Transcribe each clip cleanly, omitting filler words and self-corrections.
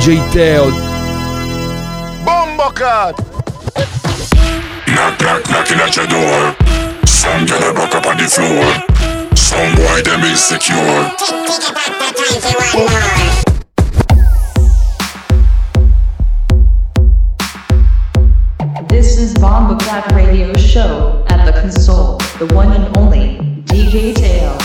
DJ Teo. Bombo Cat. Knock, knock, knocking at your door. Some girl a buck up on the floor. Some boy them insecure. This is Bombo Cat Radio Show at the console, the one and only DJ Teo.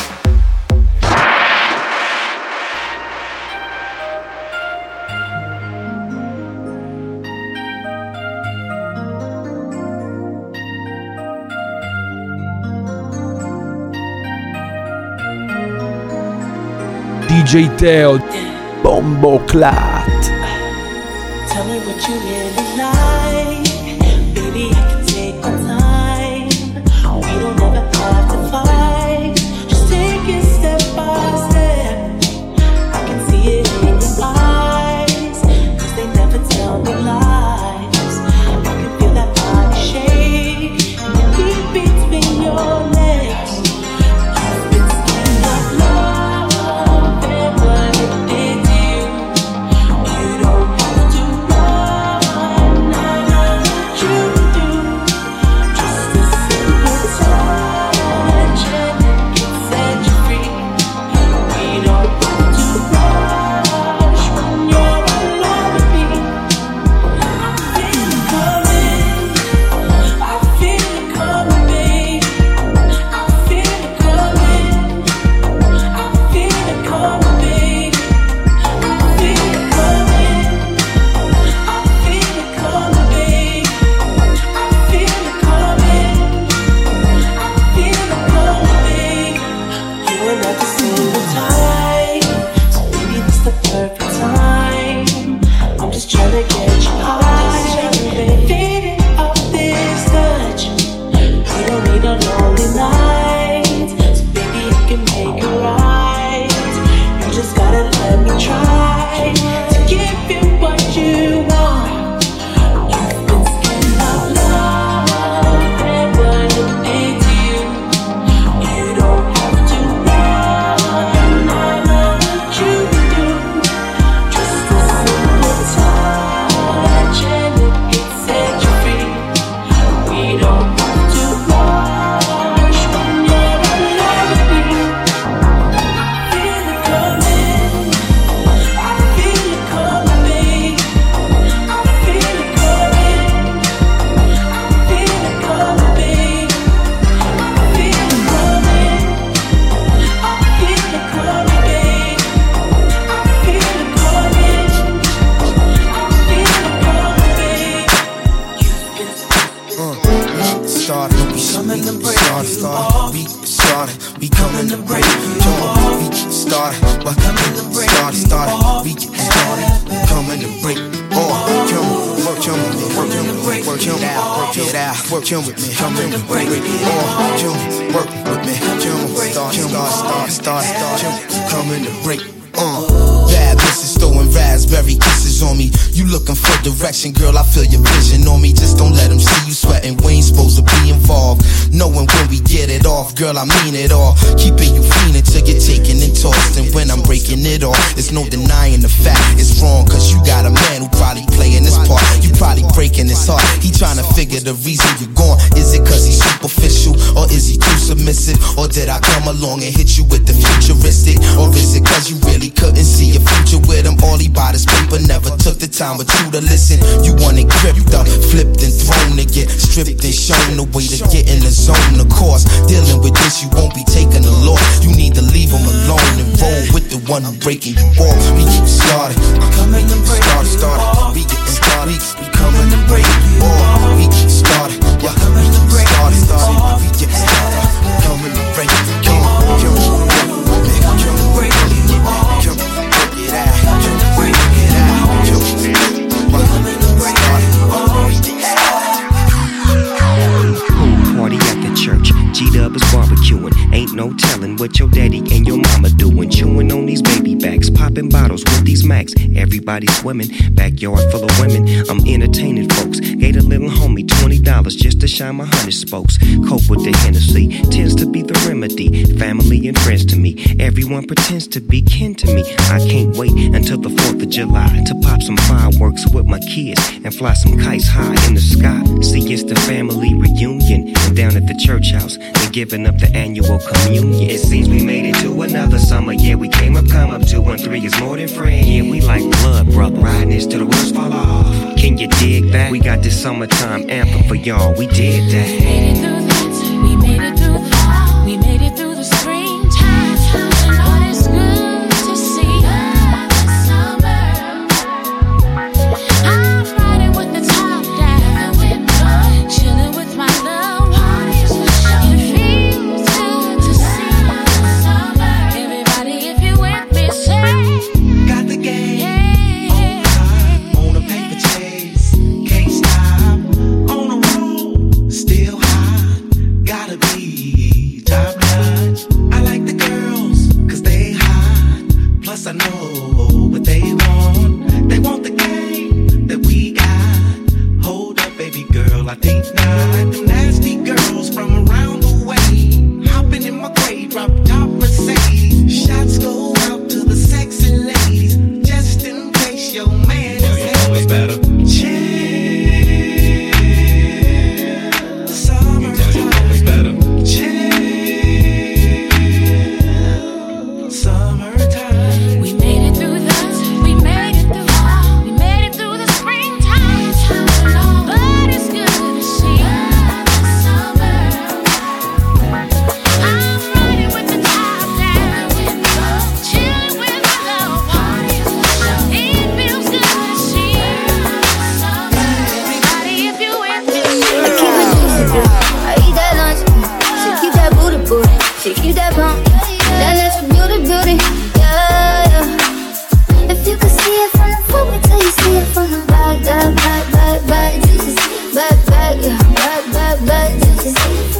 DJ Teo, Bombo Clat. Tell me what you really like, baby. I can take my time. We don't ever have to fight. Just take it step by step. I can see it in your eyes, 'cause they never tell me lies. I can feel that body shake and the heat between your legs. You've been scared of love and what it did to you. You don't have to run, nah, nah, you do. Just a simple touch and it can set you free. We don't have to rush when you're alone with me. I feel it coming, I feel it coming, babe. I feel it coming, I feel it coming, babe. I feel it coming, I feel it coming, babe. I feel it coming, I feel it coming, babe. You and I just single time, so maybe this the perfect time. I'm just trying to get you high, faded off this touch. We don't need a lonely night, so baby I can make it right. You just gotta let me try to give you what you want. You've been scared of love and what it did to you. You don't have to run, nah, nah, you do. Just a simple touch and it can set you free. We don't have to rush when you're alone with me. I feel it coming, I feel it coming, babe. I feel it coming, I feel it coming, babe. I feel it coming, I feel it coming, babe. I feel it coming, Started, we coming to break we coming to break we started, but coming to break started, we get started, coming to break work on with me, work on it out, work on with me, coming to break work with me, start, coming to break. Bad bitches throwing raspberry kisses on me. You looking for direction, girl, I feel your vision on me. Just don't let them see you sweating, we ain't supposed to be involved. Knowing when we get it off, girl, I mean it all. Keeping you fiending till you're taken and tossed. And when I'm breaking it off, there's no denying the fact it's wrong. Cause you got a man who probably playing this part. You probably breaking his heart. He trying to figure the reason you're gone. Is it cause he's superficial? Or is he too submissive? Or did I come along and hit you with the futuristic? Or is it cause you really couldn't see your future with him? All he bought is paper, never took the time with you to listen. You want it gripped up, flipped and thrown to get stripped and shown the way to get in the zone. Of course, dealing with this, you won't be taking the loss. You need to leave him alone and roll with the one who breaking you off. We get started, coming to break started. We get started, we coming to break you off. We get started, yeah, coming to break started. We get started, coming to break you off. Party at the church, G-Dub is barbecuing. Ain't no telling what your daddy and your mama doing. when chewing on these baby backs, popping bottles with these Macs. Everybody swimming, backyard full of women. I'm entertaining folks. Gave a little homie $20 just to shine my 100 spokes. Cope with the Hennessy tends to be the remedy. Family and friends to me. Everyone pretends to be kin to me. I can't wait until the 4th of July to pop some fireworks with my kids and fly some kites high in the sky. See, it's the family reunion. And down at the church house, they're giving up the annual communion. It seems we made it to another summer. Yeah, we came up, come up. 2 and 3 is more than friends. Yeah, we like blood, brother. Riding this till the wheels fall off. Can you dig that? We got this summertime anthem for y'all. We did that. We made it through that. We made it through the fall. We made it through the springtime. But it's good to see the summer. I'm riding with the top down, chilling with my loved ones. It feels good to see the summer. Everybody, if you with me, say. Got the game on a paper chase. Can't stop on the road. Still high. Gotta be top notch. I like the girls 'cause they hot. Plus I know what they want. They want the game that we got. Hold up, baby girl, I think not. Them nasty girls from around the way. Hopping in my grave, drop top Mercedes. Shots go out to the sexy ladies. Just in case your man is better. Chill. Summertime. Chill. Summertime. We made it through that. We made it through. We made it through the springtime. But it's good to see the summer. I'm riding with the top down, chilling with my loved ones. It feels good to see the summer. Everybody, if you with me, I keep it juicy, I eat that lunch. She keep that booty booty. She keep that pump. That natural beauty, yeah, yeah. If you could see it from the front, wait till you see it from the back. Back, juicy. Back, yeah. Back, juicy.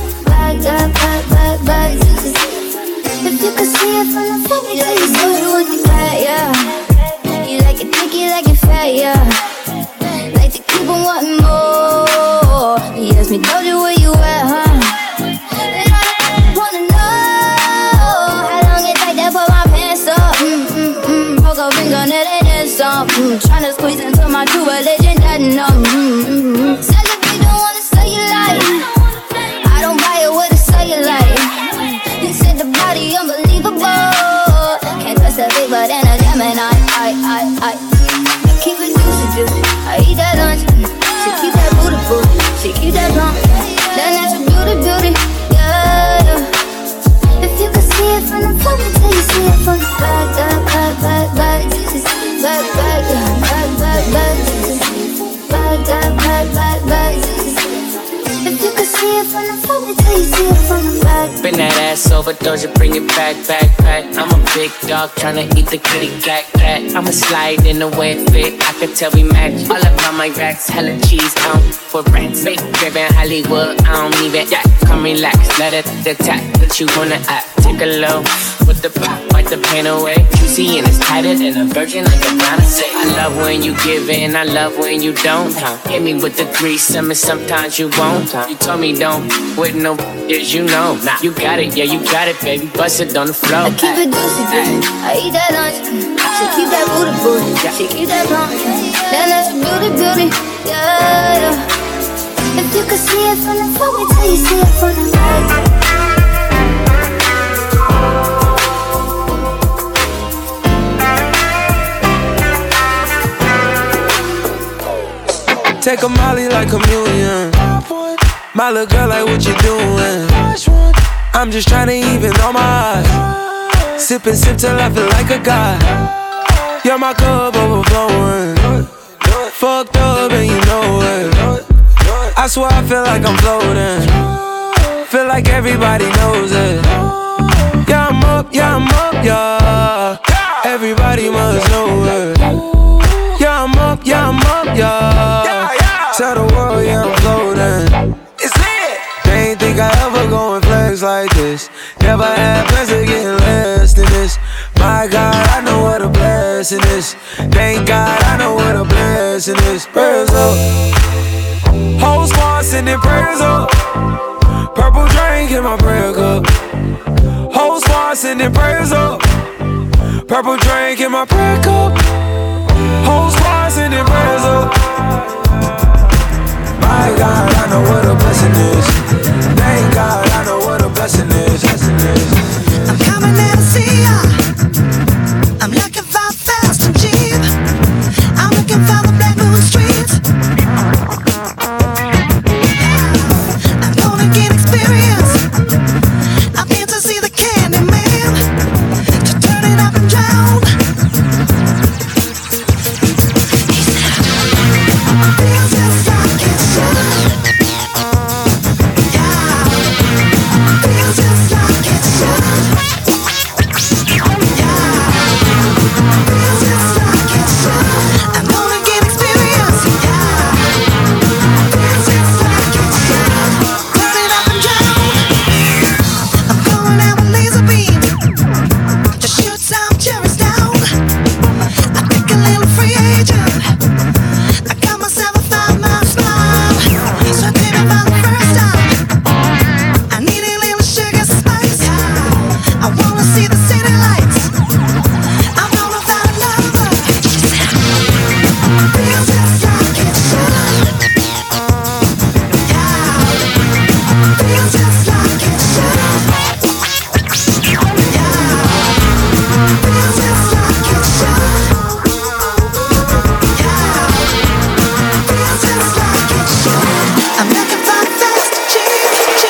Back, juicy. If you could see it from the front, wait till you see it from the back, yeah. You like it thick, you like it fat, yeah. Like to keep on wanting more. You ask me, told you where you at, huh? And I wanna know how long it take to put my pants up. Poke a finger, net and then some. Tryna squeeze into my true religion, that no. Said if you don't wanna say you like, I don't buy it with a cellulite. You said the body unbelievable. Can't trust a big but in a Gemini. I keep it juicy. I eat that lunch. She keep that booty booty. She keep that pump. That natural beauty, yeah. If you could see it from the front until you see it from the back, juicy. Back, yeah. Back, juicy. If you could see it from the front until you see it from the back. Bend that ass over, Doja, bring it back. I'm a big dog tryna eat the kitty cat. I'ma slide in the way it fit. I could tell we match. All about my racks, hella cheese out for rats. Big driven Hollywood, I don't even act. Come relax, let it attack. What you wanna act? Take a low with the pop, wipe the pain away. Juicy and it's tighter than a virgin, like a brown say. I love when you give in, I love when you don't. Hit me with the threesome and sometimes you won't. You told me don't with no as you know. You got it, yeah, you got it, baby. Bust it on the floor. I keep it juicy, I eat that lunch. She keep that booty. She keep that pump. That natural beauty, yeah. If you could see it from the front, wait till you see it from the back. Take a molly like communion. My little girl, like what you doing? I'm just tryna even on my eyes. Sip and sip till I feel like a god. You're my cup overflowing. Fucked up and you know it. I swear I feel like I'm floating. Feel like everybody knows it. Yeah, I'm up, yeah. Everybody must know it. Yeah, I'm up, yeah. Tell the world, yeah, I'm floating. It's lit. They ain't think I ever go and flex like this. Never had plans to get less than this. blessing is. Thank God I know what a blessing is. Prayers up. Whole squad sending prayers up. Purple drink in my prayer cup. Whole squad sending prayers up. Purple drink in my prayer cup. Whole squad sending prayers up. My God, I know what a blessing is. Thank God, I know what a blessing is. I'm coming in to see ya. I'm looking for fast and cheap. I'm looking for the black moon streets. I'm gonna get experience. I've been to see the Candy Man, to turn it up and down. Feels just like it's shine. Yeah. Feels just like it's shine. I'm gonna get experience. Feels just like it's shine. Turn it up and down. I'm going out with laser beams to shoot some cherries down. I think a little free agent. I got myself a 5-mile smile. So baby, for the first time, I need a little sugar spice. I wanna see the city lights. I'm gonna find love. Feels just like it's shine. Yeah. Feels just like it's shine. Yeah. Feels just like it's shine. Yeah. Feels just like it's shine. I'm looking for fast, cheap.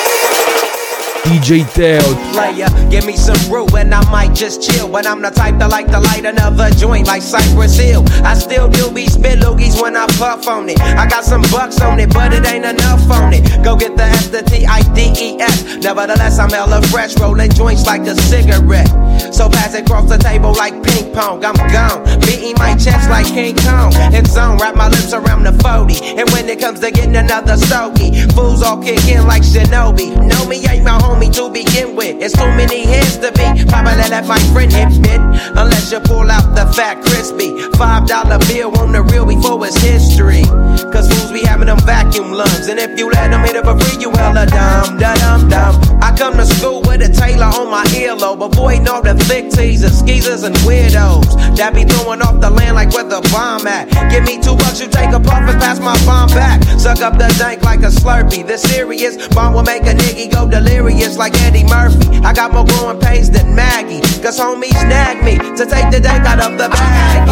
DJ Teo. Player, give me some brew and I might just chill. But I'm the type that like to light another joint like Cypress Hill. I still do be spit loogies when I puff on it. I got some bucks on it, but it ain't enough on it. Go get the S, the T-I-D-E-S. Nevertheless, I'm hella fresh, rolling joints like a cigarette. So pass it across the table like ping pong. I'm gone, beating my chest like King Kong. In zone, wrap my lips around the 40. And when it comes to getting another stogie, fools all kick in like Shinobi. Know me ain't my homie to begin with. It's too many heads to be. Probably let my friend hit it. Unless you pull out the fat crispy $5 bill on the real before it's history. Cause fools be having them vacuum lungs. And if you let them hit it for free, you hella dumb, da-dum-dum. I come to school with a Taylor on my earlobe. Avoiding all the thick teasers, skeezers, and weirdos that be throwing off the land like where the bomb at. Give me $2, you take a puff and pass my bomb back. Suck up the dank like a Slurpee. The serious bomb will make a nigga go delirious like Eddie Murphy. I got more growing pains than Maggie. Cause homies snag me to take the dank out of the bag.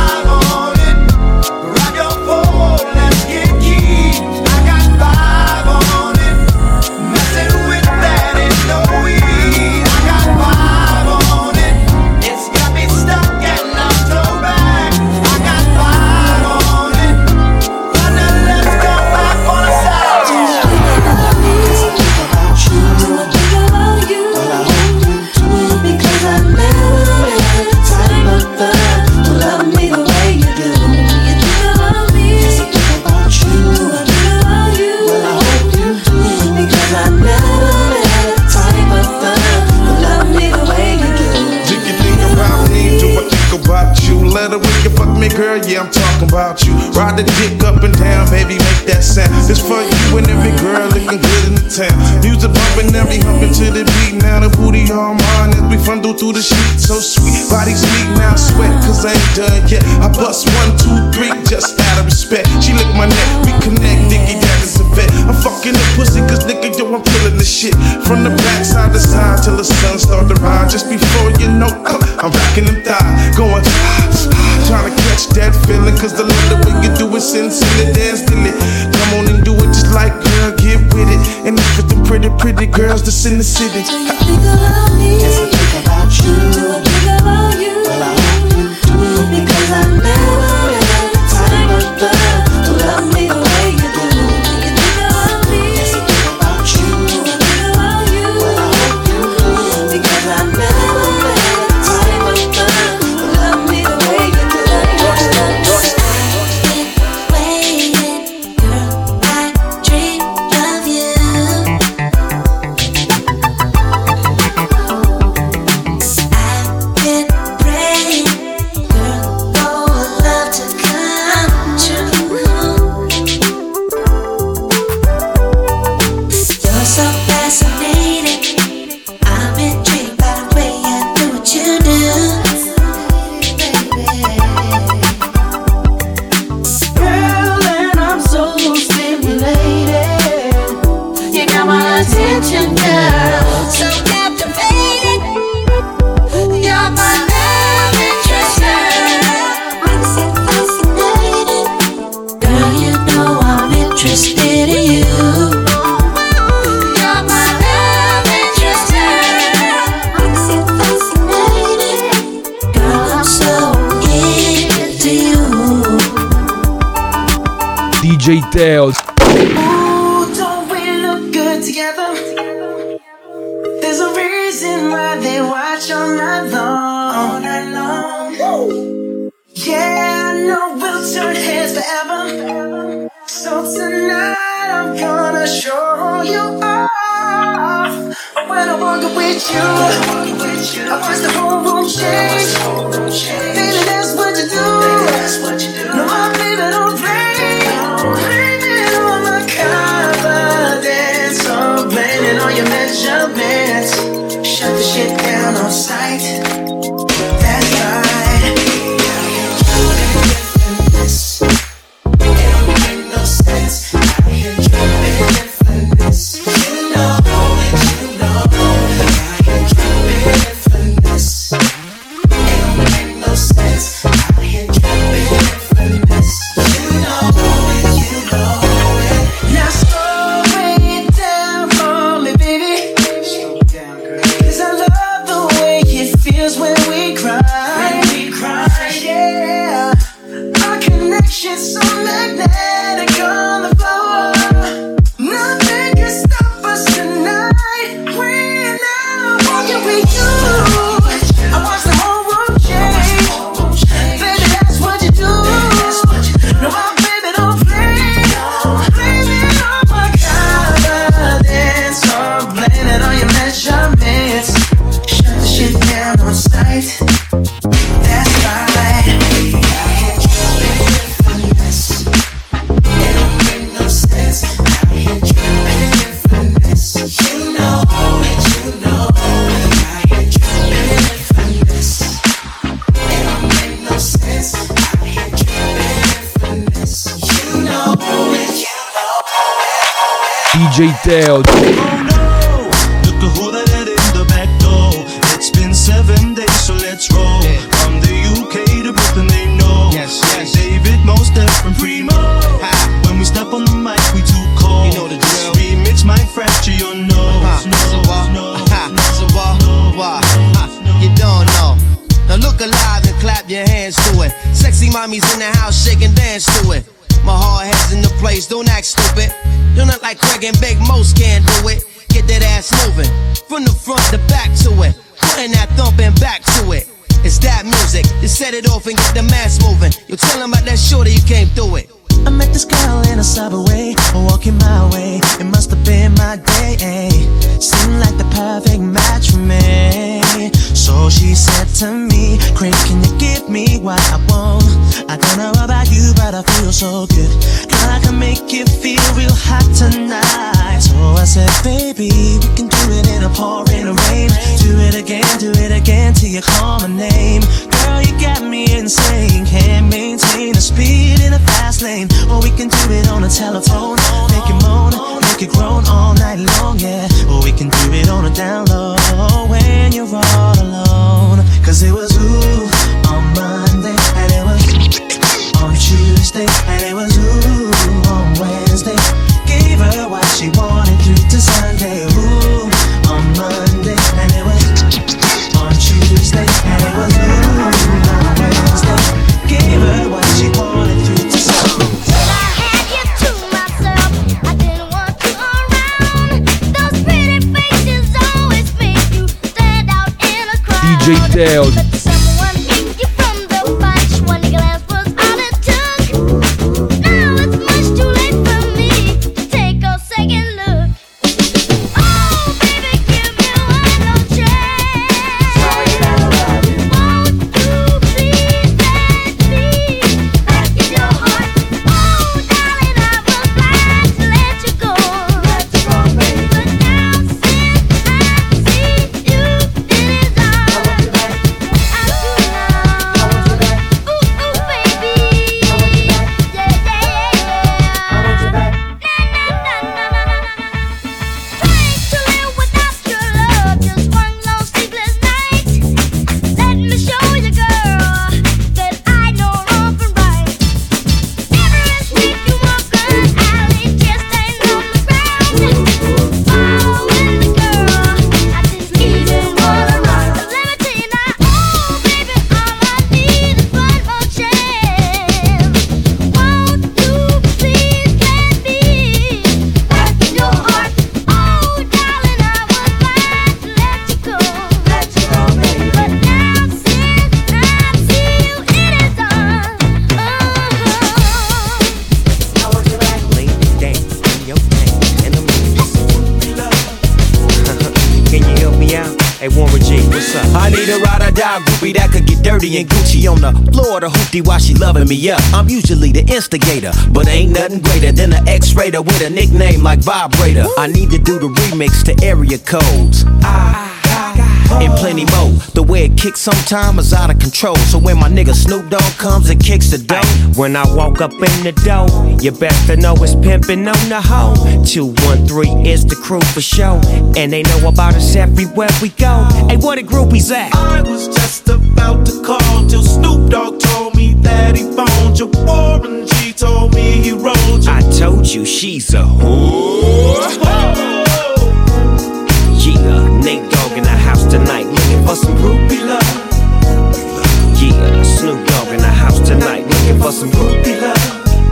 Rock your phone, let's get key. I got 5 on it. Messing with that is no weed. I got 5 on it. It's got me stuck and I'm so back. I got 5 on it. Thunder, let's go back on the side. Do I think about you? Do I think about you? Well, I hope you do. Because I never had the time of love to love me the way you do. You think about me? Yes, I think about you. Do I think about you? Well, I hope you do. Because I never had the time of love to love me the way you do. Do you think about me? Do I think about you? Let her when you fuck me, girl, yeah, I'm talking about you. Ride the dick up and down, baby, make that sound. It's for you and every girl looking good in the town. Music bumping, every humping to the beat. Now the booty all mine as we fondle through the sheets. So sweet, body's weak, now I sweat, cause I ain't done yet. I bust 1, 2, 3, just out of respect. She lick my neck, we connect, nigga, that is a vet. I'm fucking the pussy, cause nigga, yo, I'm killing the shit. From the back side to side till the sun start to rise. Just before you know, I'm rocking them thighs. Going, trying to catch that feeling, cause the love the way you do it, sincere, dance till it. Come on and do it just like, girl, get with it. And it's for the pretty, pretty girls that's in the city. Do you think about me? Yes, I think about you. Do I think about you? Well, I hope you do. Because I never had the time of love to love me the way you do. Do you think about me? Yes, I think about you. Do I think about you? Well, I hope you do. Because I never had the time of love to love me the way you do. Waiting, girl, I dream of you. attention, girl. So captivated. You're my love interest, girl. I'm so fascinated. Girl, you know I'm interested in you. You're my love interest, girl. I'm so fascinated. Girl, I'm so into you. DJ Teo. Ooh, don't we look good together? There's a reason why they watch all night long. All night long. Yeah, I know we'll turn heads forever. So tonight I'm gonna show you off. When I walk with you, I watch the whole room change. Baby, that's what you do. No, my baby don't play. Blame it on my confidence, or blame it on your measurements. Shut the shit down on sight. That's right. It don't make no sense. I hear you for this. You know that you know I hear you for this. It don't make no sense. I hear you for this. You know it, you know it. Now slow it down for me, baby. Slow it down, girl. 'Cause I love the way it feels when we cry. Yeah. Our connection's so magnetic on the floor. Nothing can stop us tonight. When I'm walking with you, I watch the whole world change. Baby, that's what you do. No, my baby don't play. Blame it on my confidence, or blame it on your measurements. Shut the shit down on sight. That's right. DJ Teo. Look at who that had in the back door. It's been 7 days, so let's roll. From the UK to Brooklyn, they know. Yes. David, Mos Def, and Primo. When we step on the mic, we too cold. You know the drill. Remix might fracture your nose. You don't know. Now look alive and clap your hands to it. Sexy mommies in the house, shake and dance to it. My hard head's in the place, don't act stupid. Don't act like Craig and Big Most can't do it. Get that ass moving, from the front to back to it. Putting that thumping back to it. It's that music, just set it off and get the mass moving. You tell them about that shorty, you came through it. I met this girl in a subway, walking my way. It must have been my day. Seemed like the perfect match for me. So she said to me, Craig, can you give me what I want? I don't know about you, but I feel so good. Girl, I can make you feel real hot tonight. So I said, baby, we can do it in a pouring rain. Do it again till you call my name. Girl, you got me insane. Can't maintain the speed in a fast lane. Or we can do it on the telephone. Make it moan, make it groan all night long, yeah. Or we can do it on a down low when you're all alone. 'Cause it was ooh on Monday, and it was on Tuesday, and it was ooh on Wednesday. Gave her what she wanted through to Sunday. Ooh on Monday, and it was on Tuesday, and it was ooh on Wednesday. Gave her what she wanted through to Sunday. DJ Teo. Hey, Warren G, what's up? I need a ride or die groupie that could get dirty and Gucci on the floor of the hoopty while she loving me up. I'm usually the instigator, but ain't nothing greater than an X-rater with a nickname like Vibrator. I need to do the remix to area codes. And plenty more. The way it kicks sometimes is out of control. So when my nigga Snoop Dogg comes and kicks the dough, when I walk up in the door, you best to know it's pimpin' on the hoe. 213 is the crew for show, and they know about us everywhere we go. Hey, where the groupies at? I was just about to call till Snoop Dogg told me that he phoned you. Warren G told me he rolled you. I told you she's a whore. Yeah, Nate Dogg in the house tonight, looking for some groupie love. Yeah, Snoop Dogg in the house tonight, looking for some groupie love.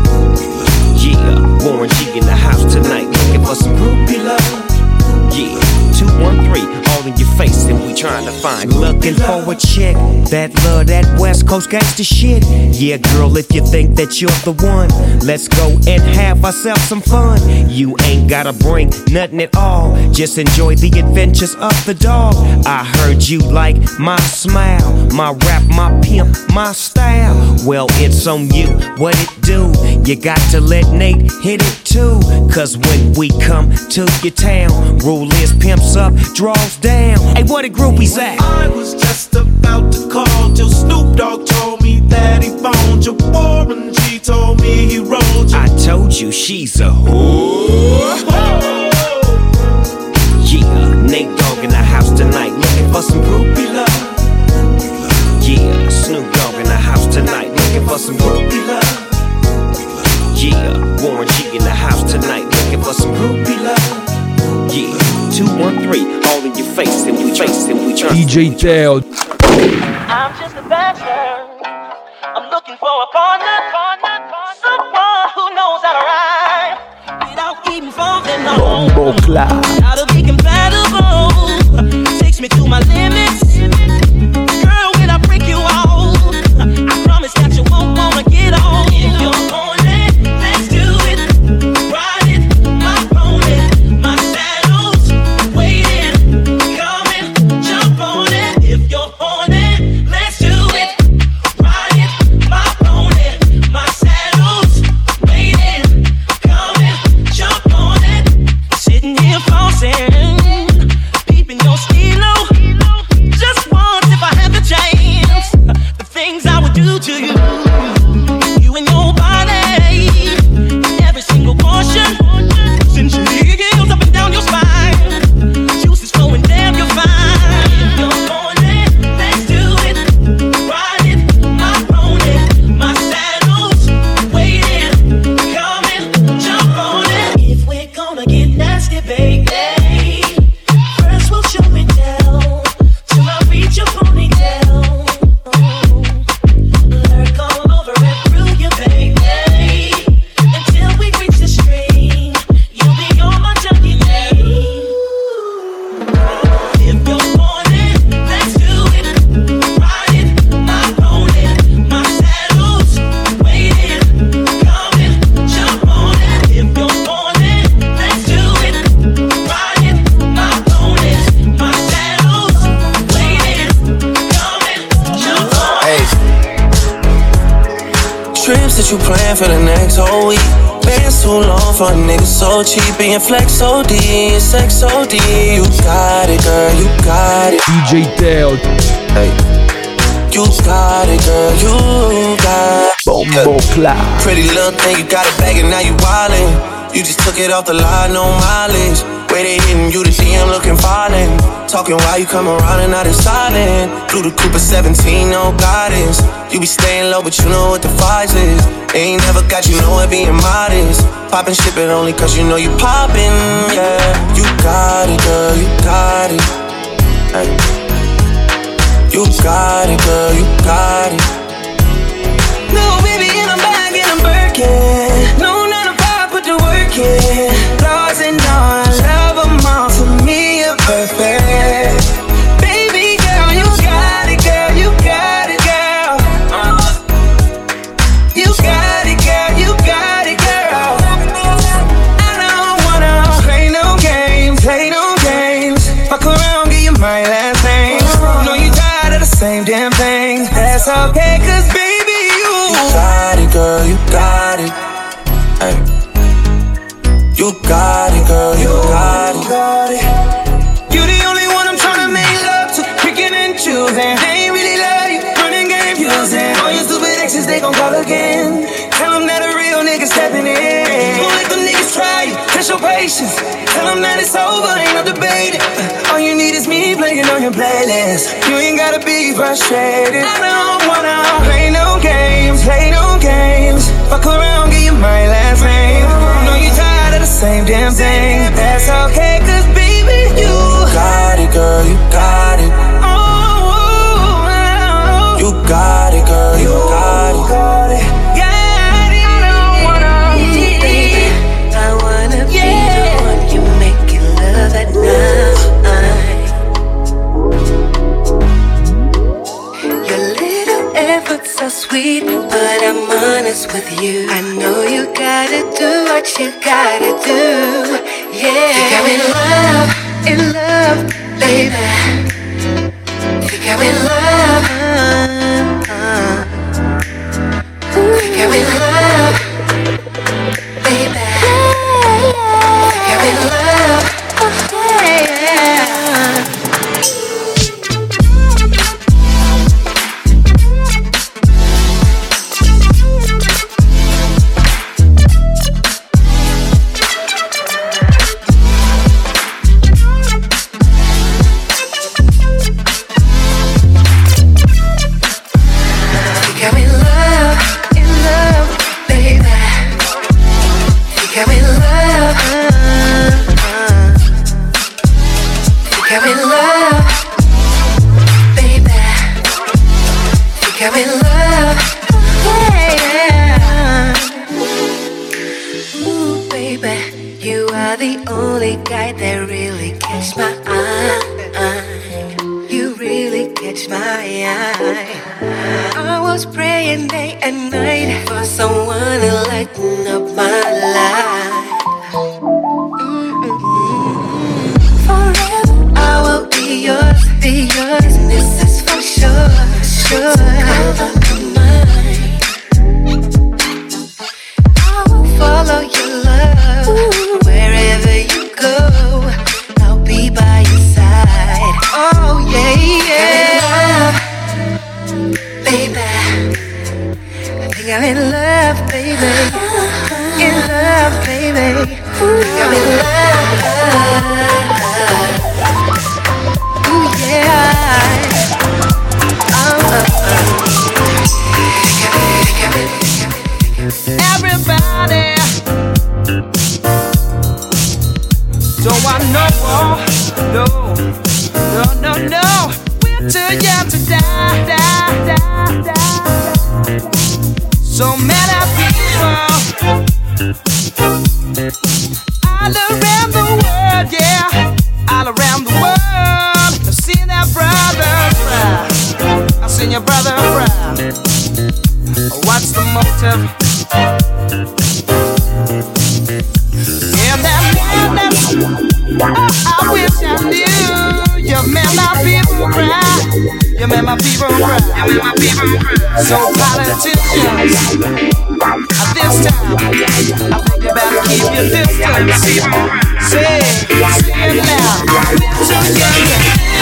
Yeah, Warren G in the house tonight, looking for some groupie love. Yeah, 213, all in your face, and we trying to find looking for a chick that love that West Coast gangsta shit. Yeah, girl, if you think that you're the one, let's go and have ourselves some fun. You ain't gotta bring nothing at all, just enjoy the adventures of the dog. I heard you like my smile, my rap, my pimp, my style. Well, it's on you, what it do? You got to let Nate hit it too, cause when we come to your town, rule is pimps up, draws down. Hey, where the groupies at? I was just about to call till Snoop Dogg told me that he phoned you. Warren G told me he rolled you. I told you she's a whore. Yeah, Nate Dogg in the house tonight, looking for some groupie love. Yeah, Snoop Dogg in the house tonight, looking for some groupie love. Yeah, Warren G in the house tonight, looking for some groupie love. Yeah, 213, all in your face, and we trace, and we trust. DJ Teo. I'm just a bachelor. I'm looking for a partner, someone who knows how to ride without even falling on. Bombo Cloud. Gotta be compatible. Takes me to my limits. Girl, when I break you off, I promise that you won't wanna get on. If you're on it, let's do it. Ride it, my pony, my saddle's waiting. Come and jump on it. If you're on it, let's do it. Ride it, my pony, my saddle's waiting. Come and jump on it. Sitting here flossing, peeping your stilo. Just once if I had the chance, the things I would do to you. You and your body, every single portion. Since your heels up and down your spine, juices flowing, damn, you're fine. If you're on it, let's do it. Ride it, my pony, my saddle's waiting. Come and jump on it. If we're gonna get nasty, baby, first we'll show it down till I reach your ponytail. Lurk all over and through you, baby, until we reach the stream. You'll be on my junkie day. If you're on it, let's do it. Ride it, my pony, my saddle's waiting. Come and jump on it. If you're on it, let's do it. Ride it, my pony, my saddle's waiting. Come and jump on it. Hey. Trips that you plan for the next whole week. Bands too long for a nigga so cheap. Being flex OD and sex OD. You got it, girl, you got it. DJ Teo. Hey. You got it, girl, you got it. Bombo Cloud. Pretty little thing, you got it back and now you wildin'. You just took it off the line, no mileage. Way they hitting you, the DM looking violent. Talking while you come around and not in silent. Through the Cooper 17, no guidance. You be staying low, but you know what the price is. Ain't never got you know it being modest. Poppin' shit, but only cause you know you poppin', yeah. You got it, girl, you got it. Hey. You got it, girl, you got it. No, baby, and I'm back and I'm Birkin. No, not a pop, put the work in. Flaws and all, I love them all. For me, you're perfect. Baby girl, you got it, girl, you got it, girl. You got it, girl, you got it, girl. I don't wanna play no games. That's okay, cause baby, you got it, girl, you got it. Hey. You got it, girl, you got it. You the only one I'm tryna make love to, picking and choosing. They ain't really love you, running game using. All your stupid exes, they gon' call again. Tell them that a real nigga stepping in. Don't let them niggas try you, test your patience. Tell them that it's over, ain't no debating. All you need is me playing on your playlist. You ain't gotta be frustrated. I don't wanna play no games, Fuck around, get you my last name. I know you tired of the same damn thing. That's okay, cause baby, you got it, girl, you got it. You got it, girl, you got it. So sweet, but I'm honest with you. I know you gotta do what you gotta do. Yeah, think I'm in love, baby. Think I'm in love. Think I'm in love, baby. Think I'm in love. Yeah. So politicians, at this time, I think you better keep your distance. Say it now, we're together.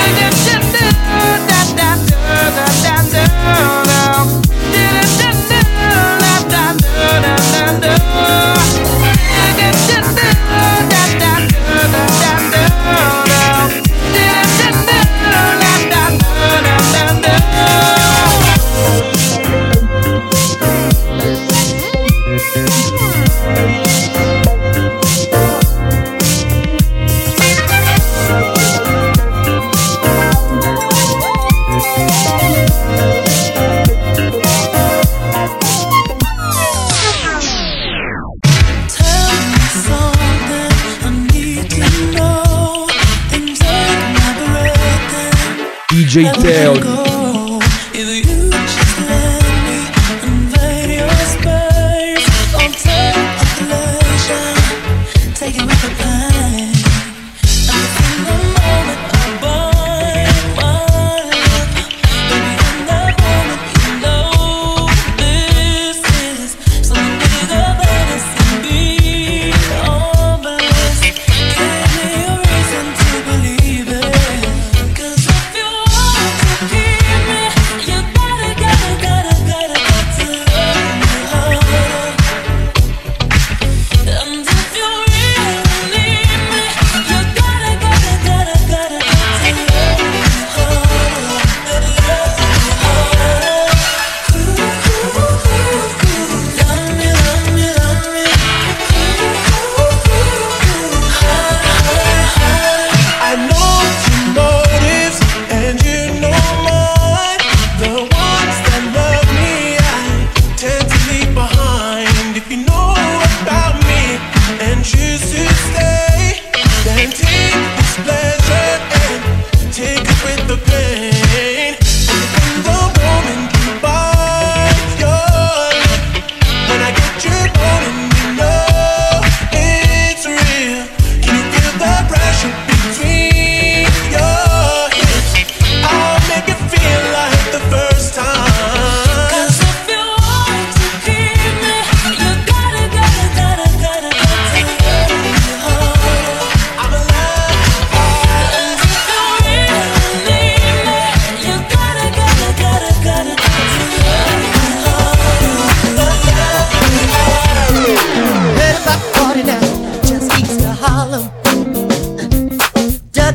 DJ Teo.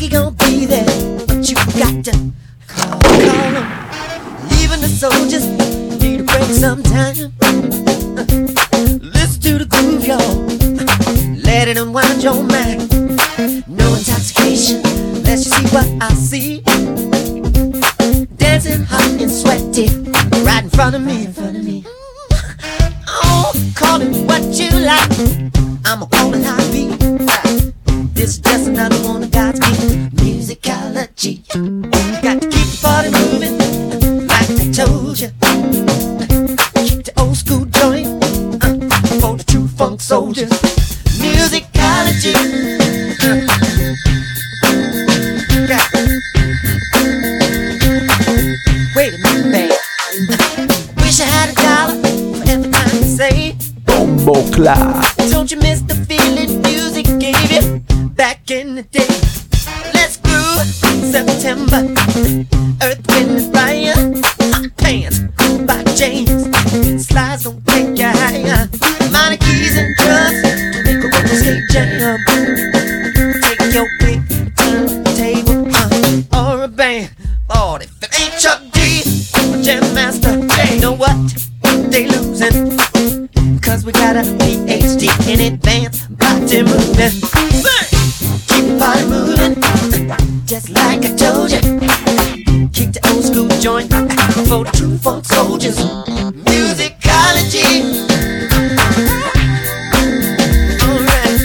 he gon' be there, but you got to call him. Even the soldiers need a break sometime. Listen to the groove, y'all. Let it unwind your mind. No intoxication, let's see what I see. Dancing hot and sweaty, right in front of me. Oh, call it what you like, I'ma call it how it be. This is just another one of God's gift, musicology. Got to keep the party moving, like I told you. Keep the old school joint, for the true funk soldiers. Musicology. Wait a minute, babe. Wish I had $1 for every time you say Bombo Clat. Don't you miss the feeling music gave you back in the day? Let's groove September. Earth, wind, and fire. Hot pants by James. Slides don't take you higher. Minor keys and drums make a roller skate jam. Take your pick, turntable, or a band. Lord, if it ain't Chuck D, Jam Master, you know what? They losing. Cause we got a PhD in advanced body movement. Keep the party moving, just like I told you. Kick the old school joint for the true funk soldiers. Musicology. Alright.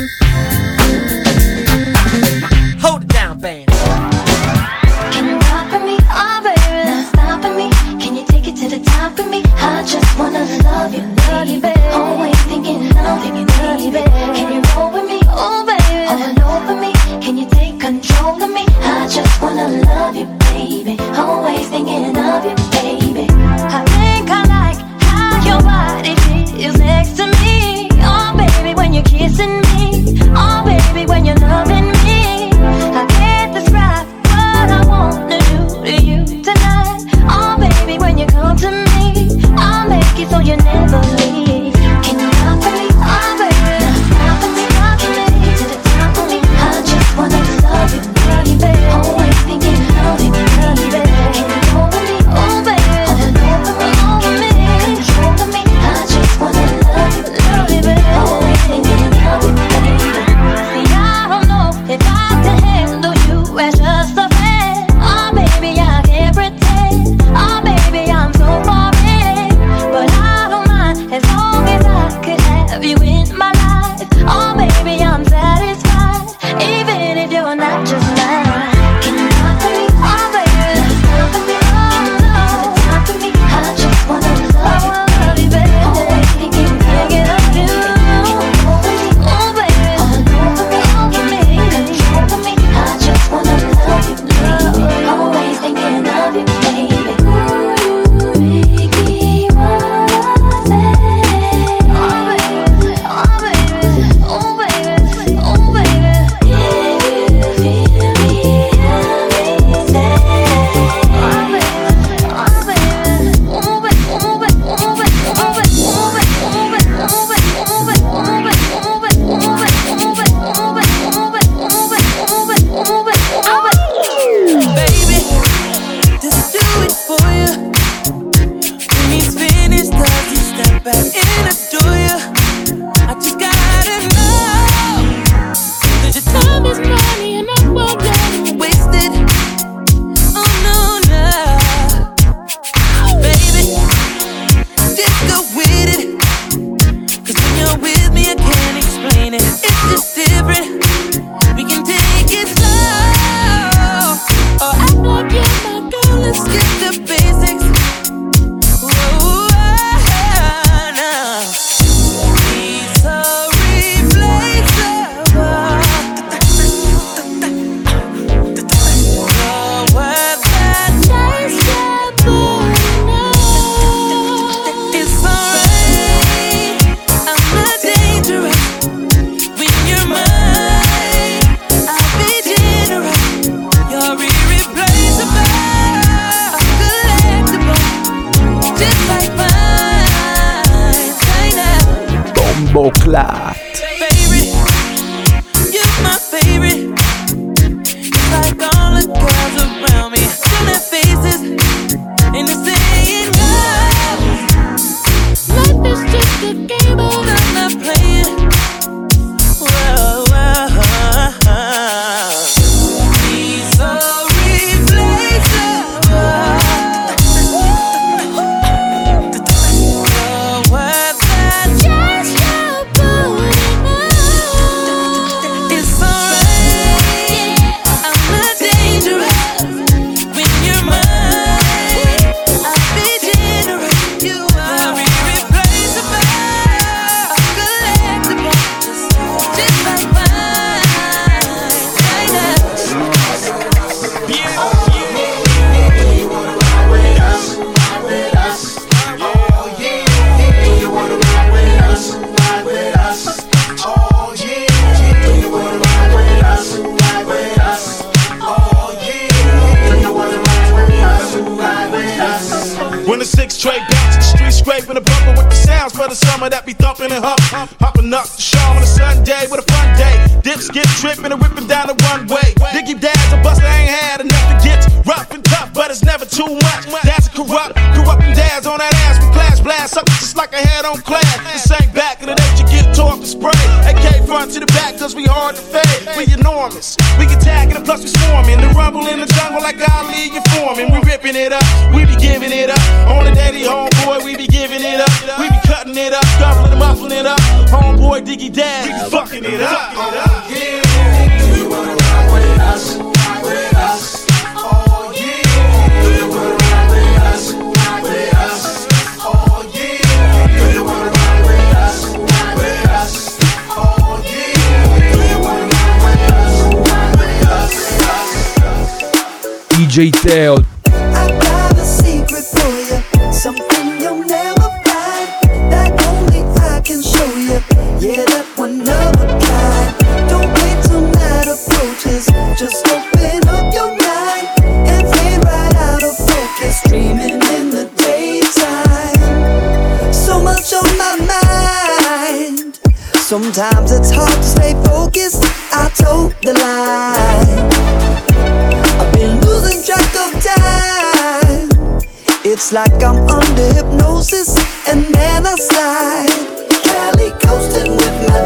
Hold it down, band. Can you rock for me? Oh baby, now stop for me. Can you take it to the top with me? I just wanna love you, baby. Always thinking of you, baby. Can you roll with me? Oh baby, all over me. Can you take control of me? I just wanna love you, baby. Always thinking of you, baby. I think I like how your body feels next to me. Oh baby, when you're kissing me. Oh baby, when you're loving me. I can't describe what I wanna do to you tonight. Oh baby, when you come to me, I'll make it so you never leave. Can you rock for me? Oh baby, rock for me, rock for me to the top of me. I just wanna love you, baby. Always thinking of you, baby. Can you go with me? Oh baby, all over me, control of me. I just wanna love you, baby. Always thinking of you, baby. See, I don't know if I can handle you as just a friend. Oh baby, I can't pretend. Oh baby, I'm so boring, but I don't mind as long as I could have you in my life. Oh baby, I'm satisfied, even if you're not just mine. Can you rock for me? Oh baby, rock for me, oh no, rock for me. I just wanna love you, baby. Always thinking of you. Oh baby, all over me, control of me. I just wanna love you, baby. Always thinking of you, baby. Baby, just do it for you. When he's finished, does he step back and adore you? I just gotta know that your time is money and I won't let it waste it. Oh no, no, baby, just go with it. 'Cause when you're with me, I can't explain it. It's just different. We can take it slow. Oh, act like you're my girl, let's skip the basics. Whoa, no. He's so replaceable. You're worth that chase, yeah, boy, no. It's alright, I'm not dangerous. When you're mine, I'll be generous. You're irreplaceable, collectible, just like mine. Bombo Clat. Favorite, you're my favorite. It's like Six straight bounce in the street, scraping the bumper with the sounds for the summer that be thumping and hopping up the show on a Sunday with a fun day. Dips get tripping and ripping down the runway. Diggy dads a buster ain't had enough to get rough and tough, but it's never too much. That's corrupting dads on that ass with class blast, sucker just like a head on class. This ain't back in the day, you get tore up and spray. AK front to the back, cause we hard to fade. We enormous, we get tagging and plus we swarming. The rumble in the jungle like Ali, you forming. We ripping it up, we be giving it up. On the daddy homeboy, we be giving it up. We be cutting it up, scuffling and muffling it up. Homeboy, Diggy Dad, we be fucking it up. Do you wanna ride with us? With us? Oh yeah. Do you wanna ride with us? With us? Oh yeah. Do you wanna ride with us? With us? Oh yeah. Do you wanna ride with us? DJ Teo. I got a secret for you, something you'll never find, that only I can show you. Yeah, that one of a kind. Don't wait till night approaches, just open up your mind and fade right out of focus, dreaming in the daytime. So much on my mind, sometimes it's hard to stay focused. I told the lie, I've been losing track of time. It's like I'm under hypnosis and then I slide. Cali coasting with my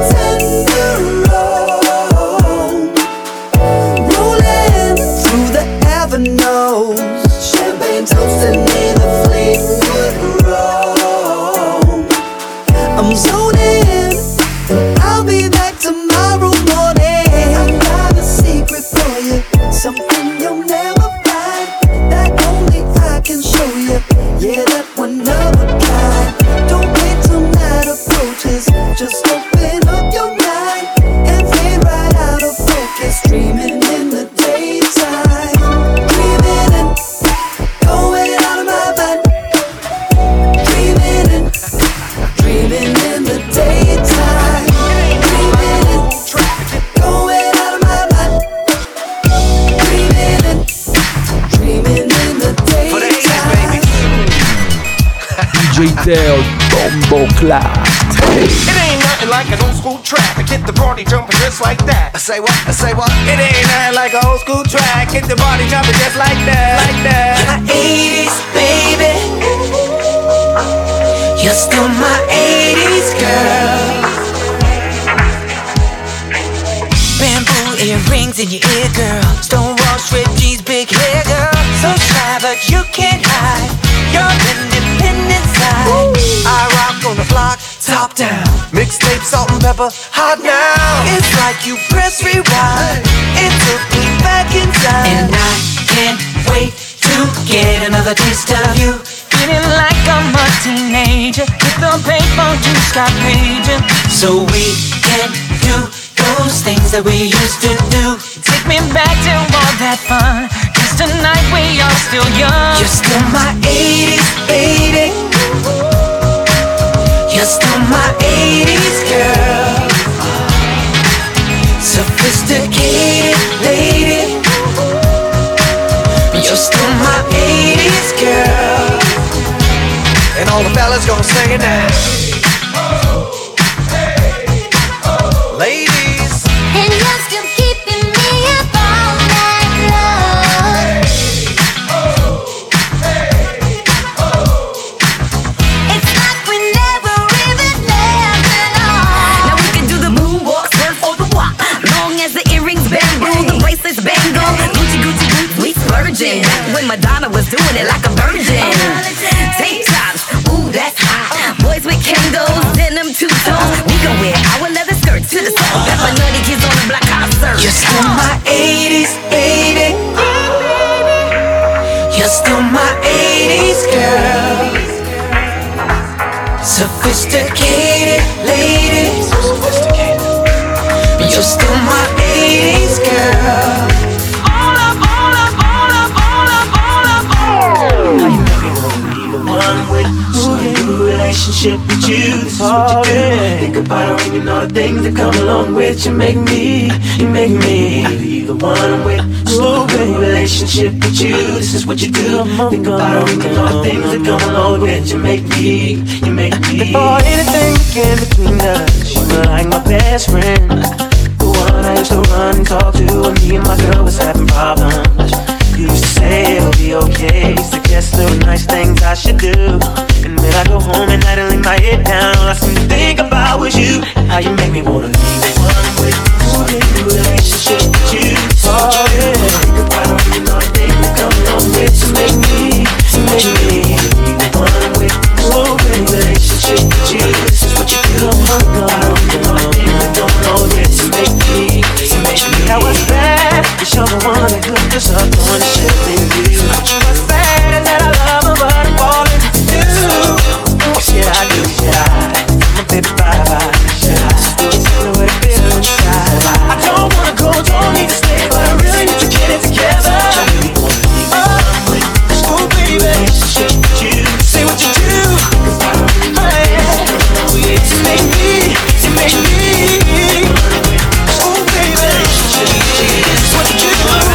tenderone, rolling through the avenues, champagne toasting in the Fleetwood Road. I'm zoning, I'll be back tomorrow morning. I got a secret for you, something you'll never find, that only I can show you. Yeah, that one of a kind. Don't wait till night approaches, just open up your mind and fade right out of focus, dreaming in the daytime. Dreaming and going out of my mind. Dreaming and dreaming in the daytime. Dreaming and going out of my mind. Dreaming and dreaming in the daytime. DJ Teo, Bombo Clap. It ain't nothing like an old school track. I get the party jumping just like that. I say what? I say what? It ain't nothing like an old school track. Get the party jumping just like that. Like that. You're my 80s, baby. You're still my 80s girl. Bamboo earrings in your ear, girl. Stonewall strip jeans, big hair, girl. So shy, but you can't hide your independent side. I rock on the block, top down. Mixtape, salt and pepper, hot now. It's like you press rewind. It took me back in time, and I can't wait to get another taste of you. Feeling like I'm a teenager, with the paper you stop paging, so we can do those things that we used to do. Take me back to all that fun, 'cause tonight we are still young. You're still my 80s, baby. You're still my 80s girl. Sophisticated lady. You're still my 80s girl. And all the fellas gonna sing it now. Ladies. And you're still keeping me up all night long. It's like we never even left alone. Now we can do the moonwalk, surf or the walk. Long as the earrings bamboo, the bracelets bangle. Gucci, Gucci, boots, we splurging. Back when Madonna was doing it like a virgin. Tank tops, ooh, that's hot. Boys with Kangols, denim two-tones. We can wear our leather skirts to the soul. Got my nutty kids on the block, hot surf. You're still my 80s, baby. You're still my 80s girl. Sophisticated lady. You're still my 80s girl. All up, all up, all up, all up, all up, all up. One with some new relationship with you. This is what you do. Think about her and you know the things that come along with you. Make me be the one I'm with. Slow baby, relationship with you, this is what you do. Think about her and you know the things that come along with you. Make me. Before anything came between us, you were like my best friend. The one I used to run and talk to when me and my girl was having problems. You used to say it'll be okay, suggest little nice things I should do. And when I go home at night and lay my head down, all I seem to think about was you. How you make me wanna be the one I'm with. Wanna be in a relationship with you. Oh yeah. Think about it when you know the things that come along with you. Make me be the one I'm with. Oh baby, relationship with you. This is what you do. Oh God, you know the things that come along with you. Make me. Now what's bad? You're the one that hooked us up on the shit with you. What's bad is that I love her, but I'm falling for you. Shit I do, I'm a baby bye-bye. Shit I do, tell me what it feels inside. I don't wanna go, don't need to stay, but I really need to get it together. Oh baby, relationship with you. Say what you do. Oh yeah, you make me. Oh baby, it's what you do.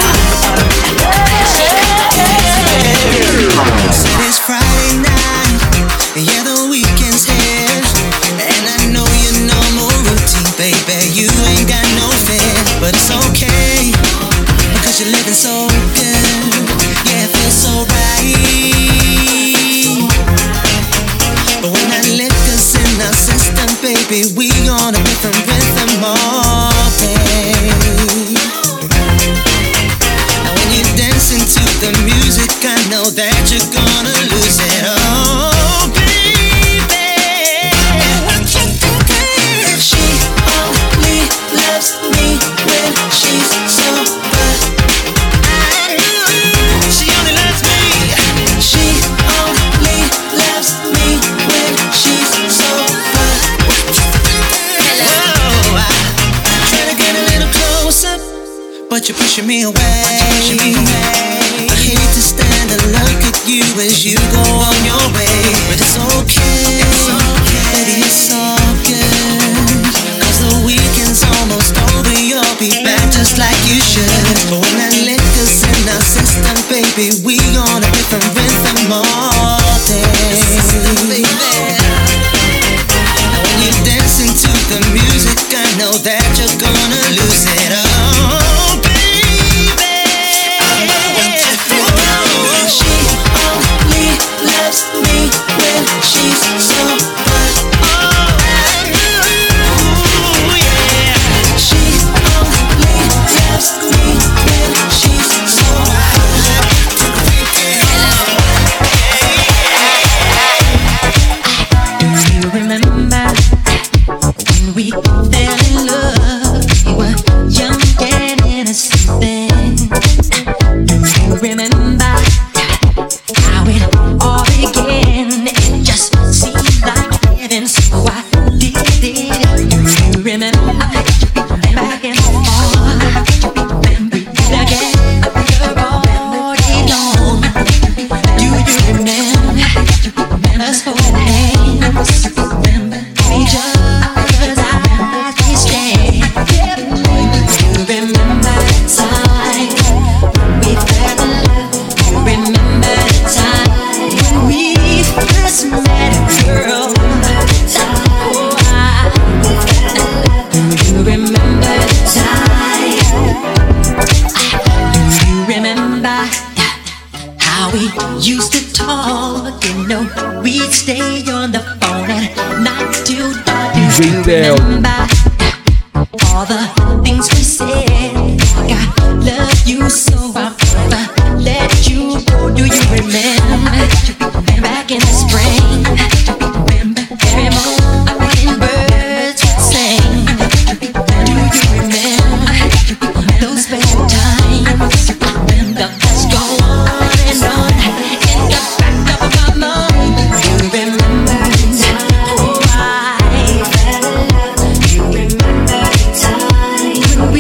It's Friday night, yeah, the weekend's here, and I know your normal routine, baby. You ain't got no fear, but it's okay because you're living so good. Yeah, it feels so right. But when that liquor's in our system, baby, we on a different rhythm all day. And when you're dancing to the music, I know that you're gonna lose it all, baby. She only loves me when she's sober. She only loves me. She only loves me when she's sober. Hello, I'm trying to get a little closer, but you're pushing me away. I hate to stand and look at you as you go on your way, but it's okay, baby, it's all good. Cause the weekend's almost over, you'll be back just like you should. But when that liquor's in our system, baby, we on a different rhythm all day. And when you're dancing to the music, I know that you're gonna lose it all, baby. She only loves me when she's sober. Ooh, yeah. She only loves me when she's sober. Do you remember when we fell in love? We were young and innocent then. Do you remember how it all began? It just seemed like heaven, so I did it. Do you remember back and forth? We did again after all day long. Do you remember us holding hands? Remember each other's eyes we stayed. Do you remember the time we fell in love? Do you remember the time when we first met, girl? Do you remember the time? Do you remember how we used to talk? You know, we'd stay on the phone at night till dark. Do you remember all the things we said? Like, I love you so I'll never let you go. Do you remember back in the spring? Remember every morning birds would sing? Do you remember those special times? Remember us go on and on in the back of my mind. Do you remember the time? Oh, I fell in love. Do you remember the time when we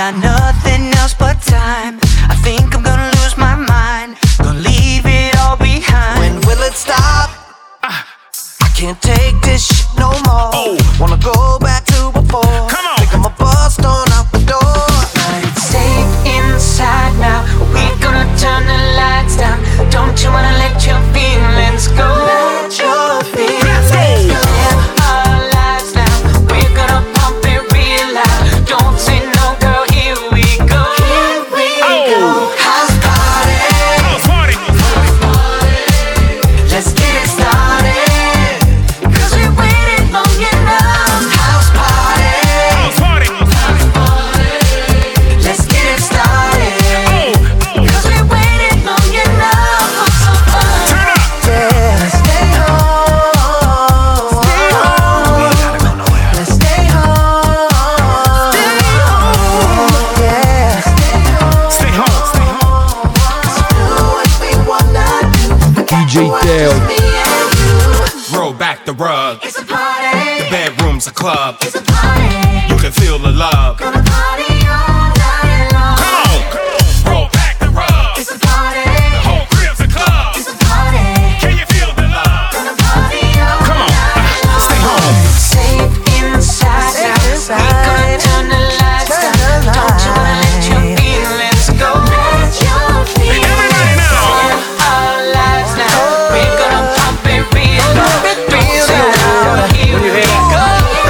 got nothing else but time. I think I'm gonna lose my mind, gonna leave it all behind. When will it stop? I can't take this shit no more. Wanna go back to before. Come on. Think I'm a bust on out the door. But it's safe inside now. We're gonna turn the lights down. Don't you wanna let your feelings go? Let your feelings go. Live our lives now. We're gonna pump it real loud. Don't say no, girl. Here we go. Here we go. House party. House party. House party. Let's get it started. 'Cause we waited long enough. House party. House party. House party. Let's get it started. 'Cause we waited long enough for some fun. Turn up. Yeah. Stay home. Stay home. We ain't gotta go nowhere. Let's stay home. Stay home. Yeah. Stay home. Stay home. Stay home. Let's do what we wanna do. DJ Teo. Roll back the rug. It's a party. The bedroom's a club. It's a party. You can feel the love. Gonna party all night long. Come on. Roll back the rug. It's a party. The whole crib's a club. It's a party. Can you feel the love? Gonna party all Come on. night long. Stay home. Safe inside now. We're gonna turn the lights down. Don't you wanna let your feelings go? Let your feelings Everybody now. go. Live our lives now. We're gonna pump it real low. Don't say no, here we go.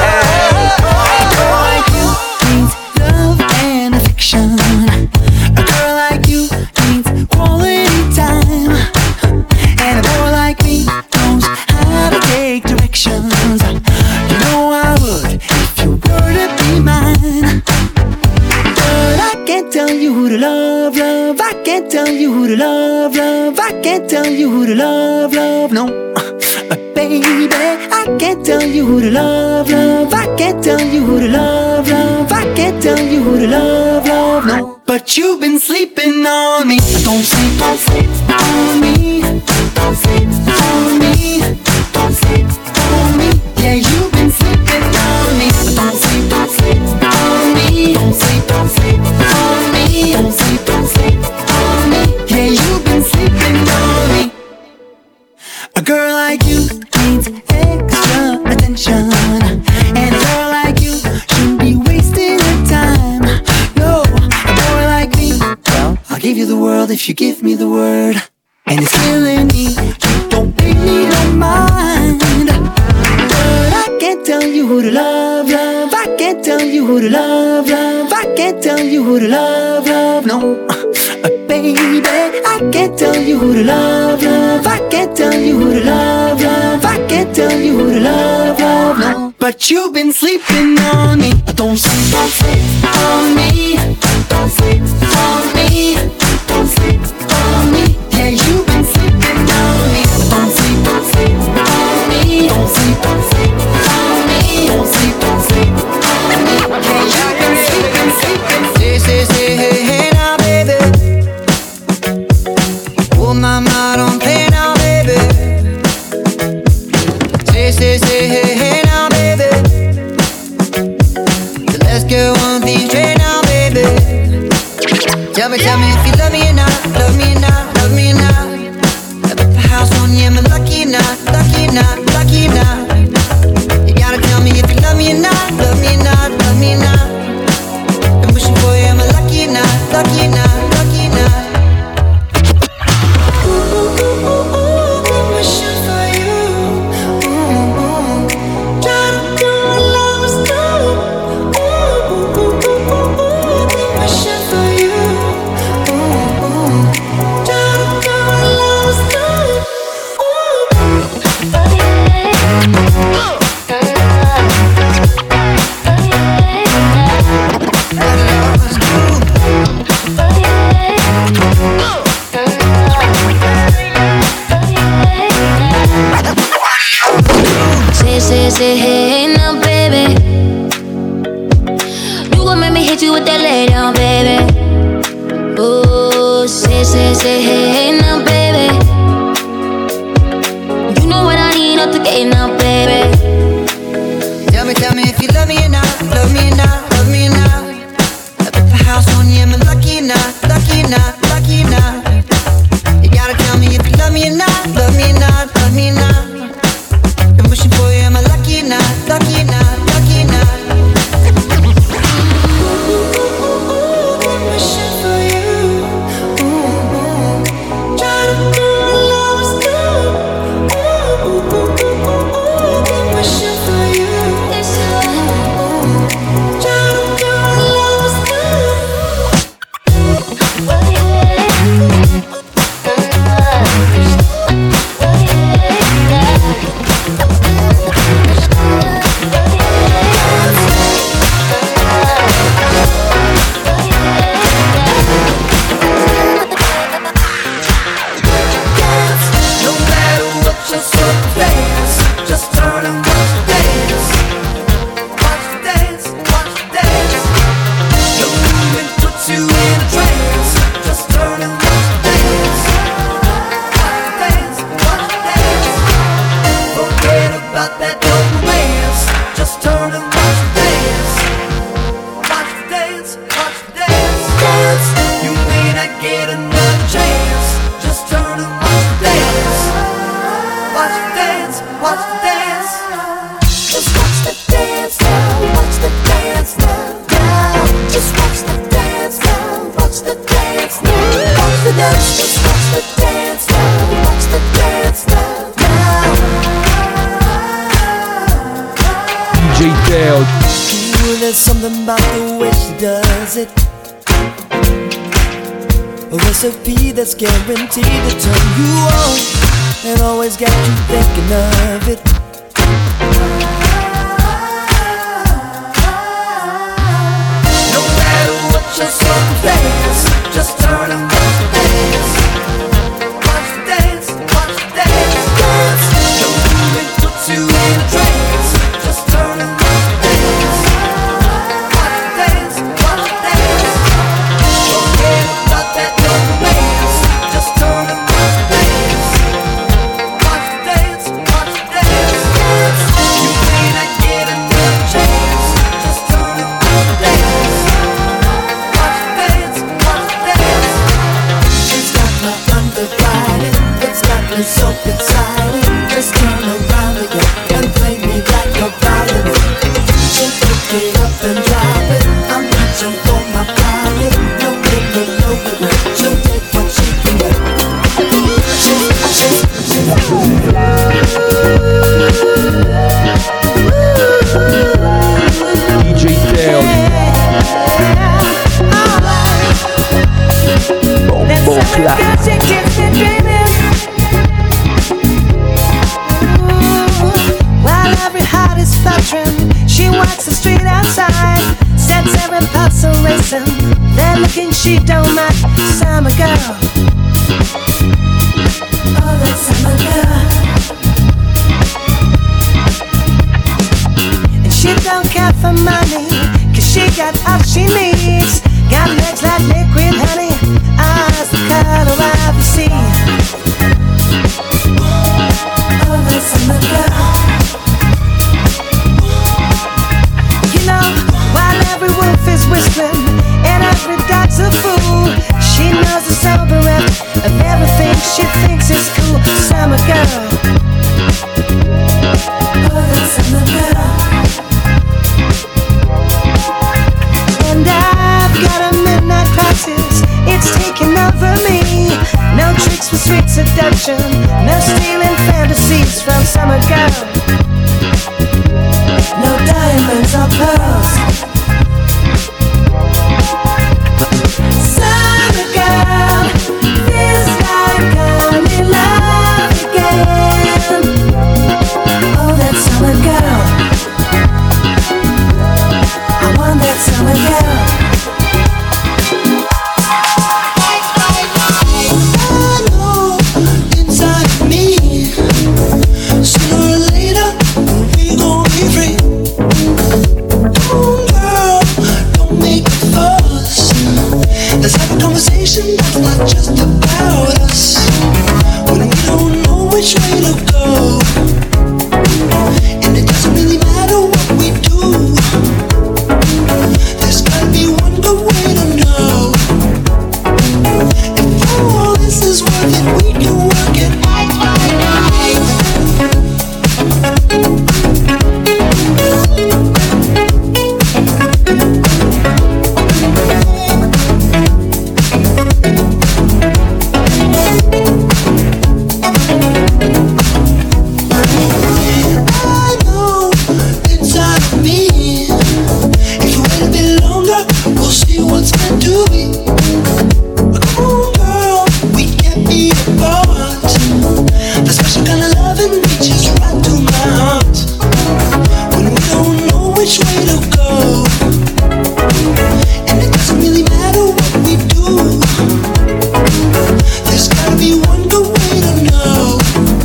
Like you needs love and affection. A girl like you needs quality time. And a boy like me knows how to take directions. You know I would if you were to be mine. But I can't tell you who to love, love. I can't tell you who to love, love. I can't tell you who to love, love. No. Baby, I can't tell you who to love, love. I can't tell you who to love, love. I can't tell you who to love, love. No, but you've been sleeping on me. Don't sleep on me. Don't sleep on me. Don't sleep on me. Yeah, you've been sleeping on me. Don't sleep on me. Don't sleep on me. Don't sleep on me. Yeah, you've been sleeping on me. A girl like you needs extra attention. And a girl like you shouldn't be wasting her time. No, a boy like me, well, I'll give you the world if you give me the word. And it's killing me, you don't pay me no mind. But I can't tell you who to love, love. I can't tell you who to love, love. I can't tell you who to love, love. No, baby, I can't tell you who to love, love. I can't tell you who to love, love. I can't tell you who to love, love. No, but you've been sleeping on me. Don't sleep on me. Don't sleep on me. Don't sleep on me. Yeah, you've been sleeping on me. Don't sleep on me. Don't sleep on me. Don't sleep on me. Yeah, you've been sleeping. Say, hey, hey now, baby. Oh, mama, don't play now, baby. Say, hey, hey now, baby. So let's get one thing straight now, baby. Tell me if you love me or not, love me or not, love me or not. I bet the house on you, am I lucky or not, lucky or not, lucky or not? You gotta tell me if you love me or not, love me or not, love me or not. I'm wishing for you, am I lucky or not, lucky or not, lucky or not? I'm wishing for you. Try to do what love is done. I'm wishing for you. Try to do what love is done. Say, hey, now, baby. You gon' make me hit you with that lay down, baby. Oh, say, hey, now, baby. You know what I need up to get now, baby. Tell me if you love me or not, love me or not, love me or not. the dance, just watch the dance now, watch the dance now. DJ Teo. Ooh, there's something about the way she does it. A recipe that's guaranteed to turn you on and always got you thinking of it. No matter what your circumstance, just turn and watch the dance. Watch the dance, watch the dance, dance. The movement puts you in a trance. Just turn and watch the dance. Watch the dance, watch the dance. Forget about that romance. Just turn and watch the dance. Watch the dance, watch the dance, dance. You may not get another chance. Just turn and watch the dance. Watch the dance, watch the dance. It's got my undivided. It's got me so excited. Just turn around again and play me like a violin. She'll pick it up and drop it. I'm reaching for my pocket. No limit, no regret. She'll take what she can get. DJ Teo. Bombo Clat. While every heart is fluttering, she walks the street outside, sets every pulse a racing. That looking she don't mind. Summer girl, oh that summer girl. And she don't care for money, 'cause she got all she needs. Got legs like liquid honey, eyes the color of the sea. Oh that summer girl. You know, while every wolf is whistling and every dog's a fool, she knows the sober end of everything she thinks is cool. Summer girl, oh that summer girl. And I've got a midnight crisis, it's taking over me. No tricks for sweet seduction, no stealing fantasies from summer girl. No diamonds or pearls. Summer girl, feels like I'm in love again. Oh, that summer girl, I want that summer girl. I know inside of me, sooner or later we gon' be free. Oh girl, don't make a fuss. Let's have a conversation that's not just about us. When we don't know which way to go, and it doesn't really matter what we do. There's gotta be one good way to know. If all this is worth it, we can work it. I know inside of me, if you wait a bit longer, we'll see what's meant to be. Come on, girl, we can't be apart. The special kind of loving reaches right to my heart. When we don't know which way to go, and it doesn't really matter what we do. There's gotta be one good way to know.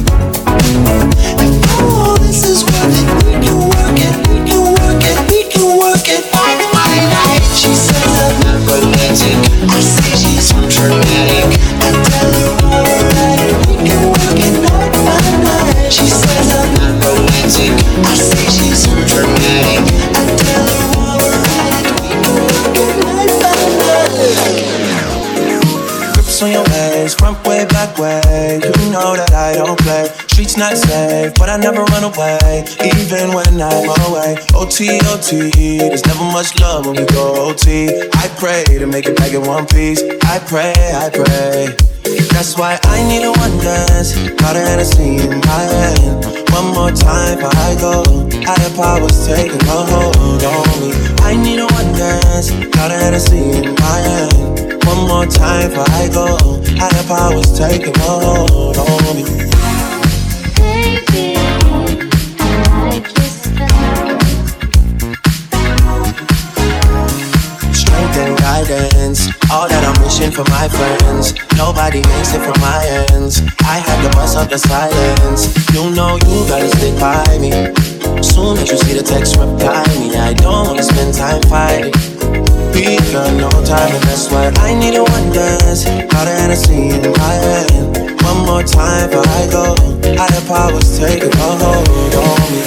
If all this is worth it, we can work it, we can work it, we can work it. She says I'm not romantic, I say she's dramatic. I tell her alright, we can work it night by night. She says I'm not romantic, I say she's dramatic. I tell her alright, we can work it night by night. Grips on your ass, Front way, back way, you know that I don't play. Streets not safe, but I never run away, even when I'm away. OT, OT, there's never much love when we go OT. I pray to make it back in one piece. I pray, I pray. That's why I need a one dance, got a Hennessy in my hand. One more time before I go, higher powers taking a hold on me. I need a one dance, got a Hennessy in my hand. One more time before I go, higher powers taking a hold on me. Baby, I like your style. Strength and guidance, all that I'm wishing for my friends. Nobody makes it from my ends. I had to bust up the silence. You know you gotta stick by me. Soon as you see the text, reply me. I don't wanna spend time fighting. We got no time, and that's what I need a one dance. Got a Hennessy in my hand. One more time before I go, higher powers taking a hold on me.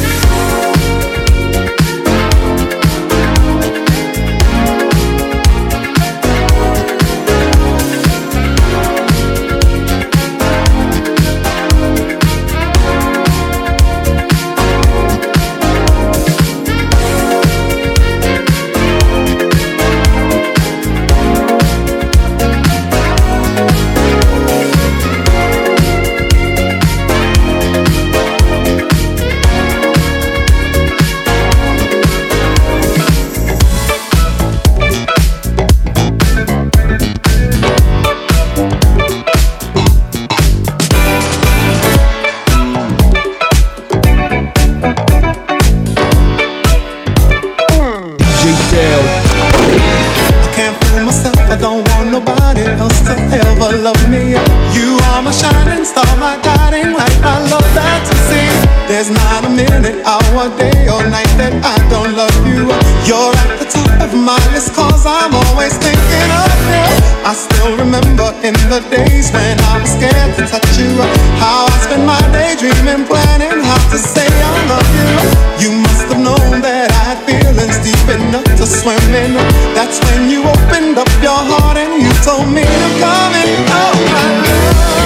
There's not a minute, hour, day or night that I don't love you. You're at the top of my list, cause I'm always thinking of you. I still remember in the days when I was scared to touch you, how I spent my day dreaming, planning how to say I love you. You must have known that I had feelings deep enough to swim in. That's when you opened up your heart and you told me to come in. Oh my love,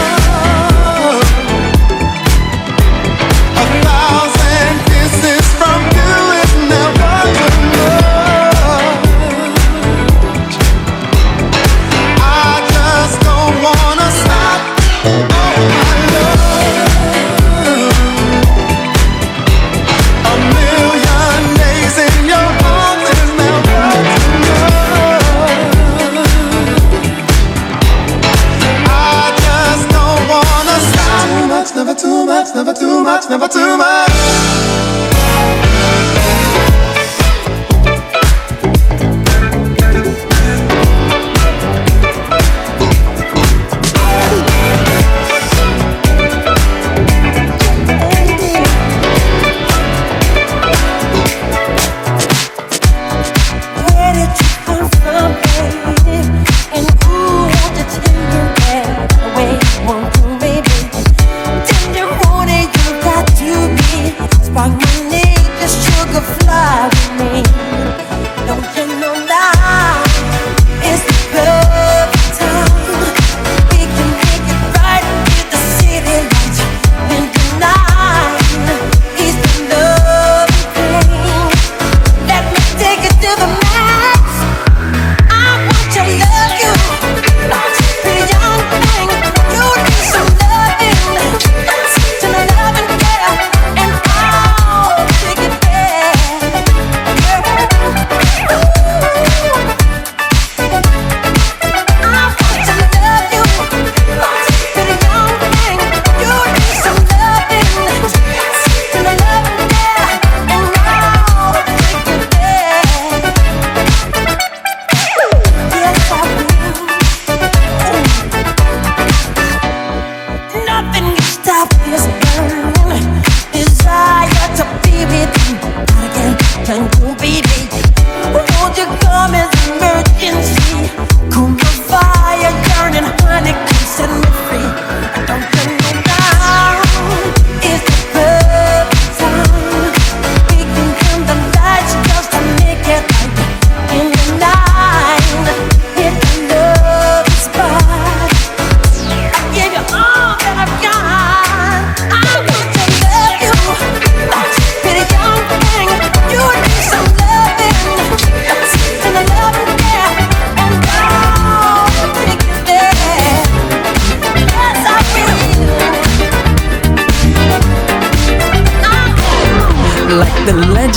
from you is never too much. I just don't wanna stop. Oh my love, a million days in your arms is never too much.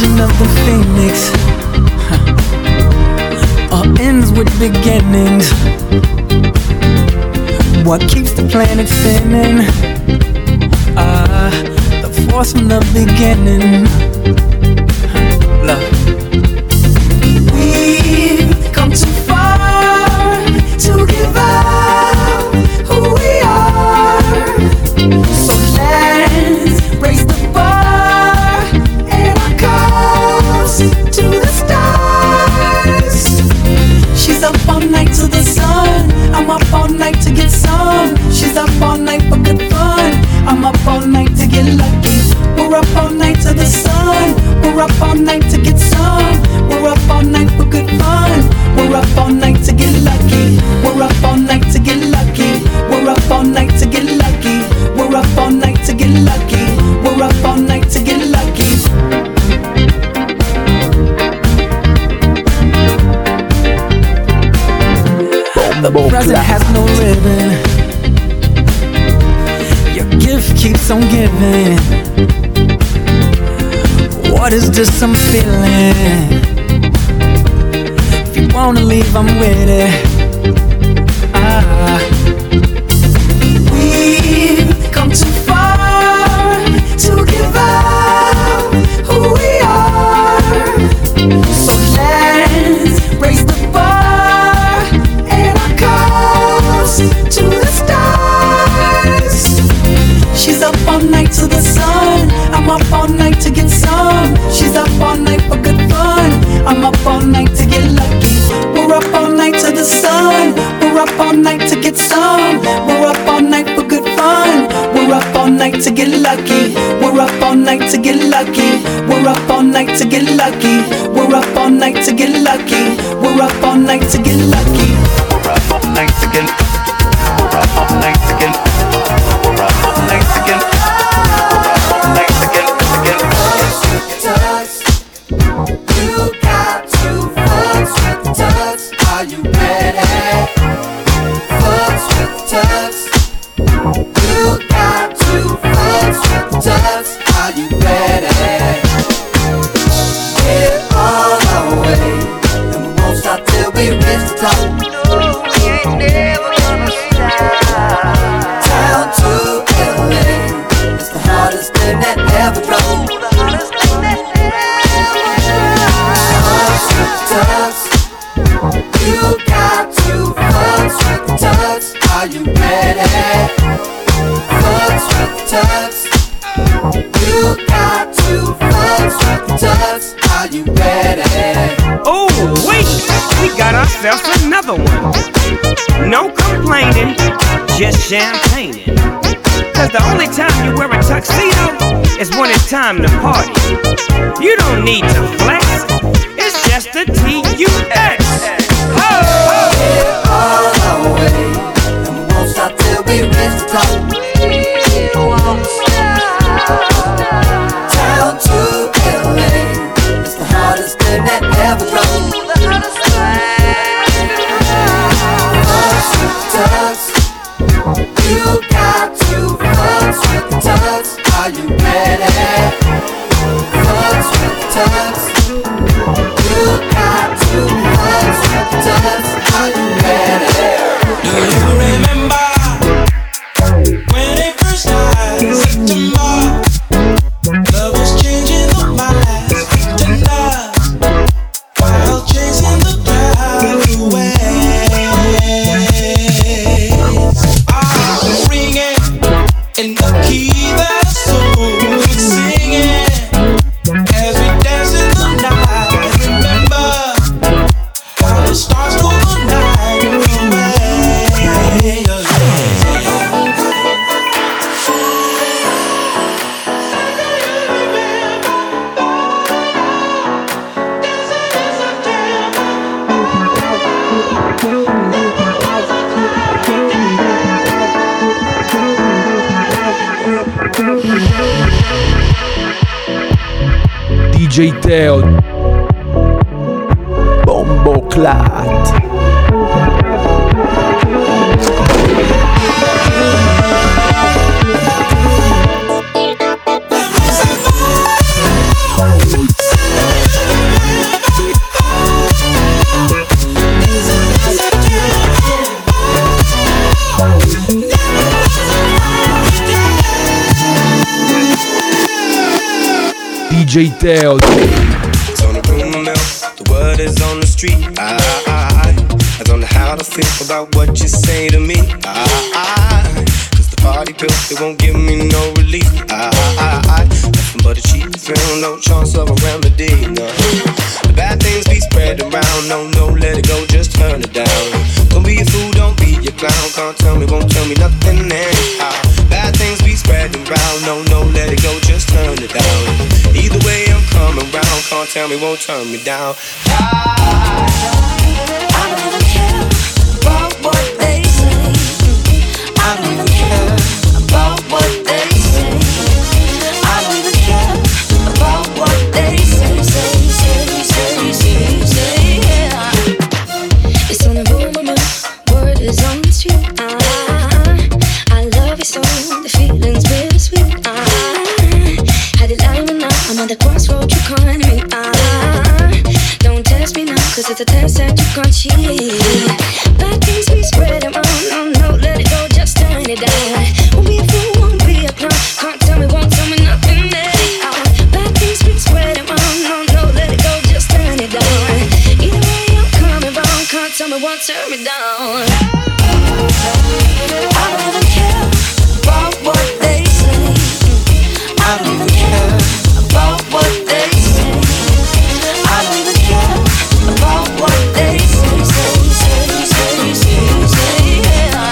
origin of the phoenix all ends with beginnings. What keeps the planet spinning? The force from the beginning. Love. We've come too far to give up who we are. So let's raise the bar and our cups to the stars. She's up all night to the sun. I'm up all night to get some. She's up all night for good fun. I'm up all night to get lucky. We're up all night to the sun. We're up all night to get some. We're up all night for good fun. We're up all night to get lucky. We're up all night to get lucky. We're up all night to get lucky. We're up all night to get lucky. We're up all night to get lucky. The present has no ribbon. Your gift keeps on giving. What is this I'm feeling? If you wanna leave, I'm with it. We've come too far to give up who we are. So let's raise the bar and our cups to the stars. She's up all night to the sun. I'm up all night to get some. She's up all night for good fun. I'm up all night to get lucky. We're up all night to the sun. We're up all night to get some. We're up all night for good fun. We're up all night to get lucky. We're up all night to get lucky. We're up all night to get lucky. We're up all night to get lucky. We're up all night to get lucky. We're up all night to get. We're up all night to get. We're up all night to get. We're up all night to get. You got to fucks with the tugs. Are you ready? Fucks with the tugs. You got to fucks with the tugs. Are you ready? We're on our way, and we won't stop till we reach the top. No, we ain't never gonna stop. Down to LA, it's the hardest thing that ever drove. You got to fucks with the tugs. Are you ready? Fucks with the tugs. You got to fucks with the tugs. Are you ready? Oh, wait, we got ourselves another one. No complaining, just champagning. Cause the only time you wear a tuxedo is when it's time to party. You don't need to flex, it's just a T-U-X. We're on our way, and we won't stop till we reach the top. We won't stop. Down to LA, it's the hardest thing that ever drove. Fucks with the tugs. You got to fucks with the tugs. Are you ready? Fucks with the tugs. You got to fucks with the tugs. Are you ready? Do you remember when it first started? September, love was changing the minds tonight while chasing the crowd away. I'm ringing in the key that soul is singing as we dance in the night. Remember how the stars go the night away. DJ Teo, Bombo Clat. DJ Teo. It's on the rumor mill, the word is on the street. I don't know how to feel about what you say to me. Cause the party pills, they won't give me no relief. Nothing but a cheap thrill, no chance of a remedy. No. The bad things be spread around, no, let it go, just turn it down. Don't be a fool, don't be a clown, can't tell me, won't tell me nothing anyhow. Bad things be spreading around, no, let it go, just turn it down. Either way I'm coming round, can't tell me, won't turn me down. I don't even care about what they say. I don't even care about what they say. I don't even care about what they say, yeah. It's on the rumor, word is on the street. I love you so, the feeling's bittersweet. Had it lying and now I'm on the crossroad, you calling me. Don't test me now, cause it's a test that you can't cheat. Bad things we spread around, no, let it go, just turn it down. Won't be a fool, won't be a clown, can't tell me, won't tell me nothing anyhow. Bad things we spread around, no, let it go, just turn it down. Either way I'm coming round, can't tell me, won't turn me down. I don't even care about what they say. I don't even care about what they say. I don't even care about what they say, yeah.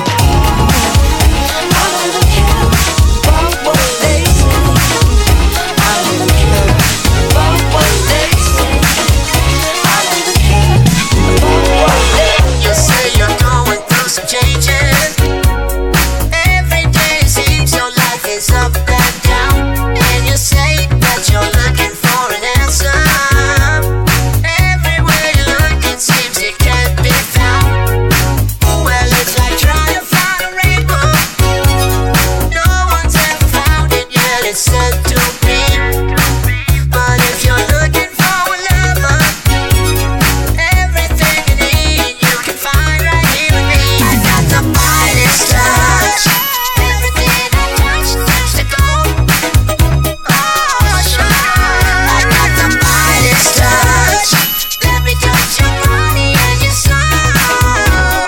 I don't even care about what they say. I don't even care about what they say. I don't even care about what they say. You say you're going through some changes. Every day it seems your life is up and down. And you say that you're looking for an answer. Everywhere you look it seems it can't be found. Well, it's like trying to find a rainbow. No one's ever found it yet, it's said to be. But if you're looking for a lover, everything you need you can find right here with me. I got the Midas touch. Everything I touch turns to gold. Oh, sure. I got the Midas touch. Let me touch your body and your soul.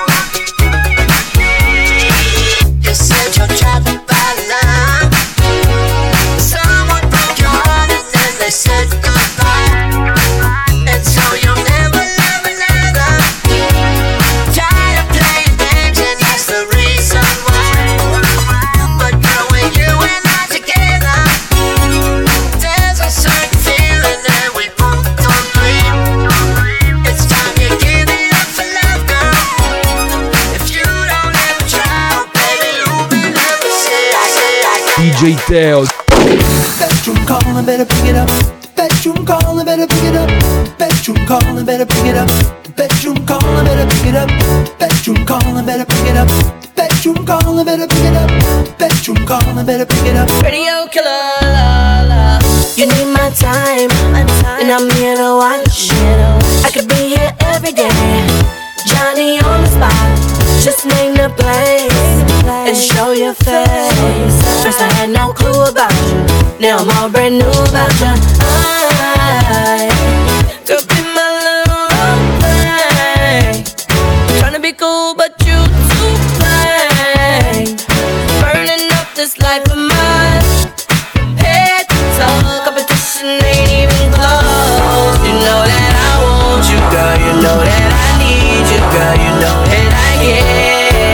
You said you're trapped by love. Someone broke your heart and then they said goodbye. And so you'll never love another. Tired of playing games and that's the reason why. But girl, when you and I together, there's a certain feeling that we both don't breathe. It's time you give it up for love, girl. If you don't ever try, baby, you'll be never see. DJ Teo. Bedroom calling, better pick it up. Bedroom calling, better pick it up. Bedroom calling, better pick it up. Bedroom calling, better pick it up. Bedroom calling, better pick it up. Bedroom calling, better pick it up. Bedroom calling, better pick it up. Radio killer, la la. You need my time, and I'm here to watch. I could be here every day, Johnny on the spot. Just name the place and show your face. First I had no clue about you, now I'm all brand new about you. I could be my little role play, tryna be cool but you too plain. Burning up this life of mine, head to toe, competition ain't even close. You know that I want you, girl, you know that I need you, girl, you know that I care.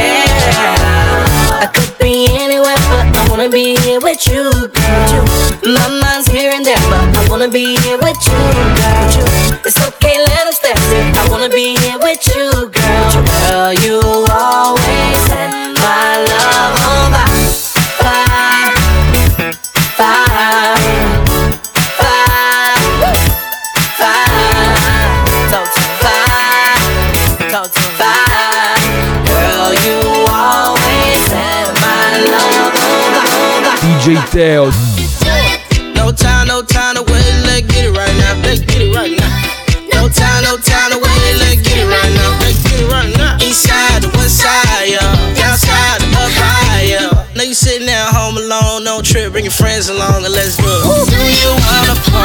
I could be anywhere, but I wanna be here with you, girl. My mind's here and there, but I wanna be here with you, girl. It's okay, let us step there. I wanna be here with you, girl. Girl, you always set my love on fire, fire, fire, fire, fire, fire. Girl, you always set my love on fire. DJ Teo. No time to wait, let's get it right now, let's get it right now. No time to wait, let's get it right now, let's get it right now. East side to west side, yeah, downside to up high, yeah. Now you sitting there home alone, no trip, bring your friends along and let's do it. Do you wanna party?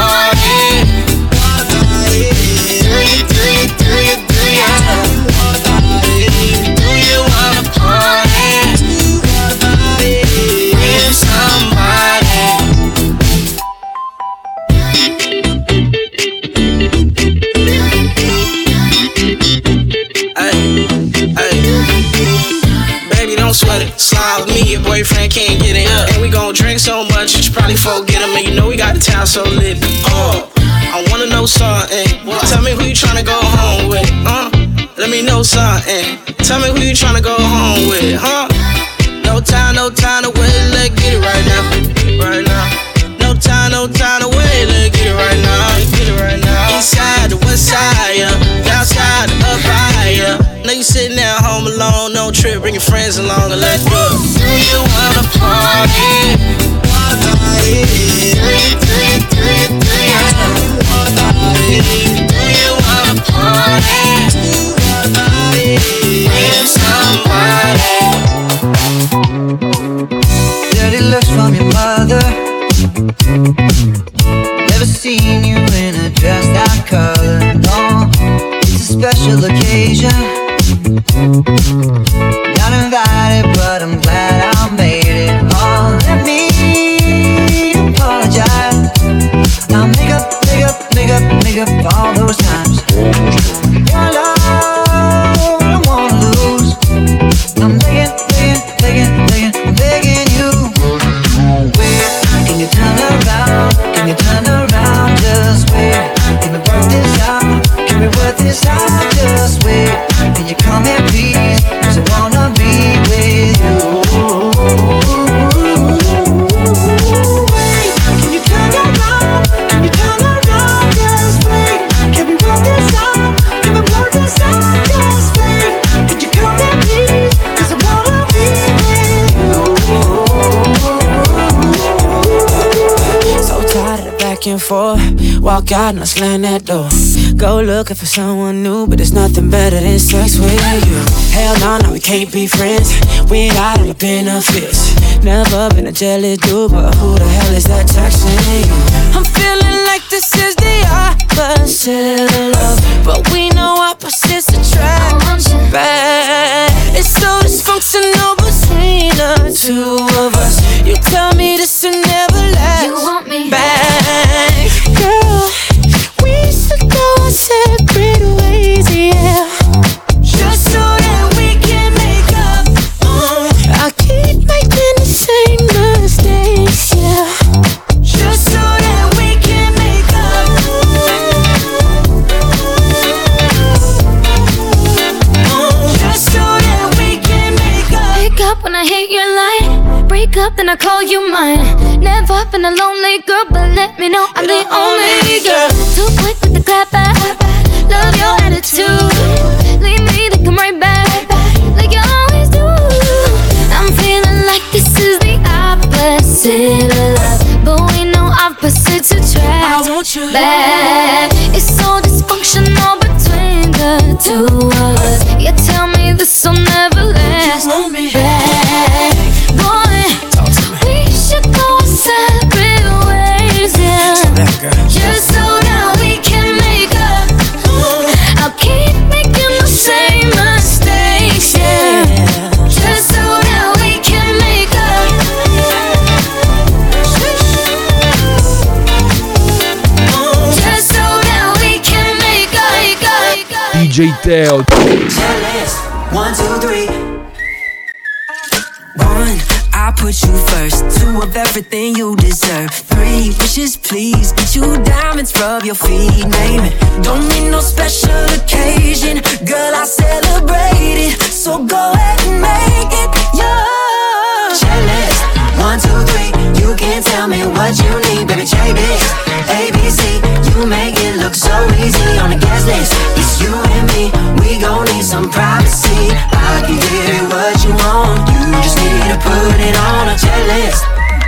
don't sweat it. Slide with me, your boyfriend can't get it up. And we gon' drink so much, you should probably forget him. And you know we got the town so lit. I wanna know something. Tell me who you tryna go home with. Let me know something. Tell me who you tryna go home with, huh? No time to wait, let's get it right now, right now. No time to wait, let's get it right now, get it right now. East side to west side, yeah. Down side to up higher. Know you sitting at home alone, no trip, bring your friends along and let's go. Do you wanna party? Do you wanna party? With somebody. Dirty looks from your mother. Never seen you in a dress that color. No, it's a special occasion. Not invited, but I'm glad I made it. Oh, let me apologize. I'll make up all those times. Your love, I don't wanna lose. I'm begging you. Wait, can you turn around? Can you turn around? Just wait. Can we work this out? Can we work this out? Just wait. Can you come here, please? 'Cause I wanna be with you. Wait, can you turn around? Can you turn around? Just wait. Can we work this out? Can we work this out? Just wait. Can you come here, please? 'Cause I wanna be with you. So tired of the back and forth. Walk out and I slam that door. Go looking for someone new, but there's nothing better than sex with you. Hell no, we can't be friends. We ain't got all the benefits. Never been a jealous dude, but who the hell is that texting you? I'm feeling like this is the opposite of love, but we know opposites attract. Back. It's so dysfunctional between the two of us. You tell me this will never last. You want me back, girl. We should go our separate ways, yeah. Just so that we can make up. I keep making the same mistakes, yeah. Just so that we can make up. Just so that we can make up. Pick up when I hit your line. Break up, then I call you mine. Never been a lonely girl, but let me know I'm the only girl. Too quick with the clap back. Love your attitude. Leave me to come right back, like you always do. I'm feeling like this is the opposite of love, but we know opposites attract. I want you back. It's so dysfunctional between the two of us. You tell me this will never last. You want me back, boy. We should go separate ways, yeah. Just so that we can make up. I'll keep making the same mistakes, yeah. Just so that we can make up. Just so that we can make up. DJ Teo. Checklist, 1, 2, 3. 1, I put you first. 2 of everything you deserve. 3 wishes, please. Get you diamonds, rub your feet, name it. Don't need no special occasion, girl, I celebrate it. So go ahead and make it yours. Checklist, 1, 2, 3. You can tell me what you need, baby, check this. ABC, you make it look so easy on the guest list. It's you and me, we gon' need some privacy. I can give you what you want, you just need to put it on a checklist.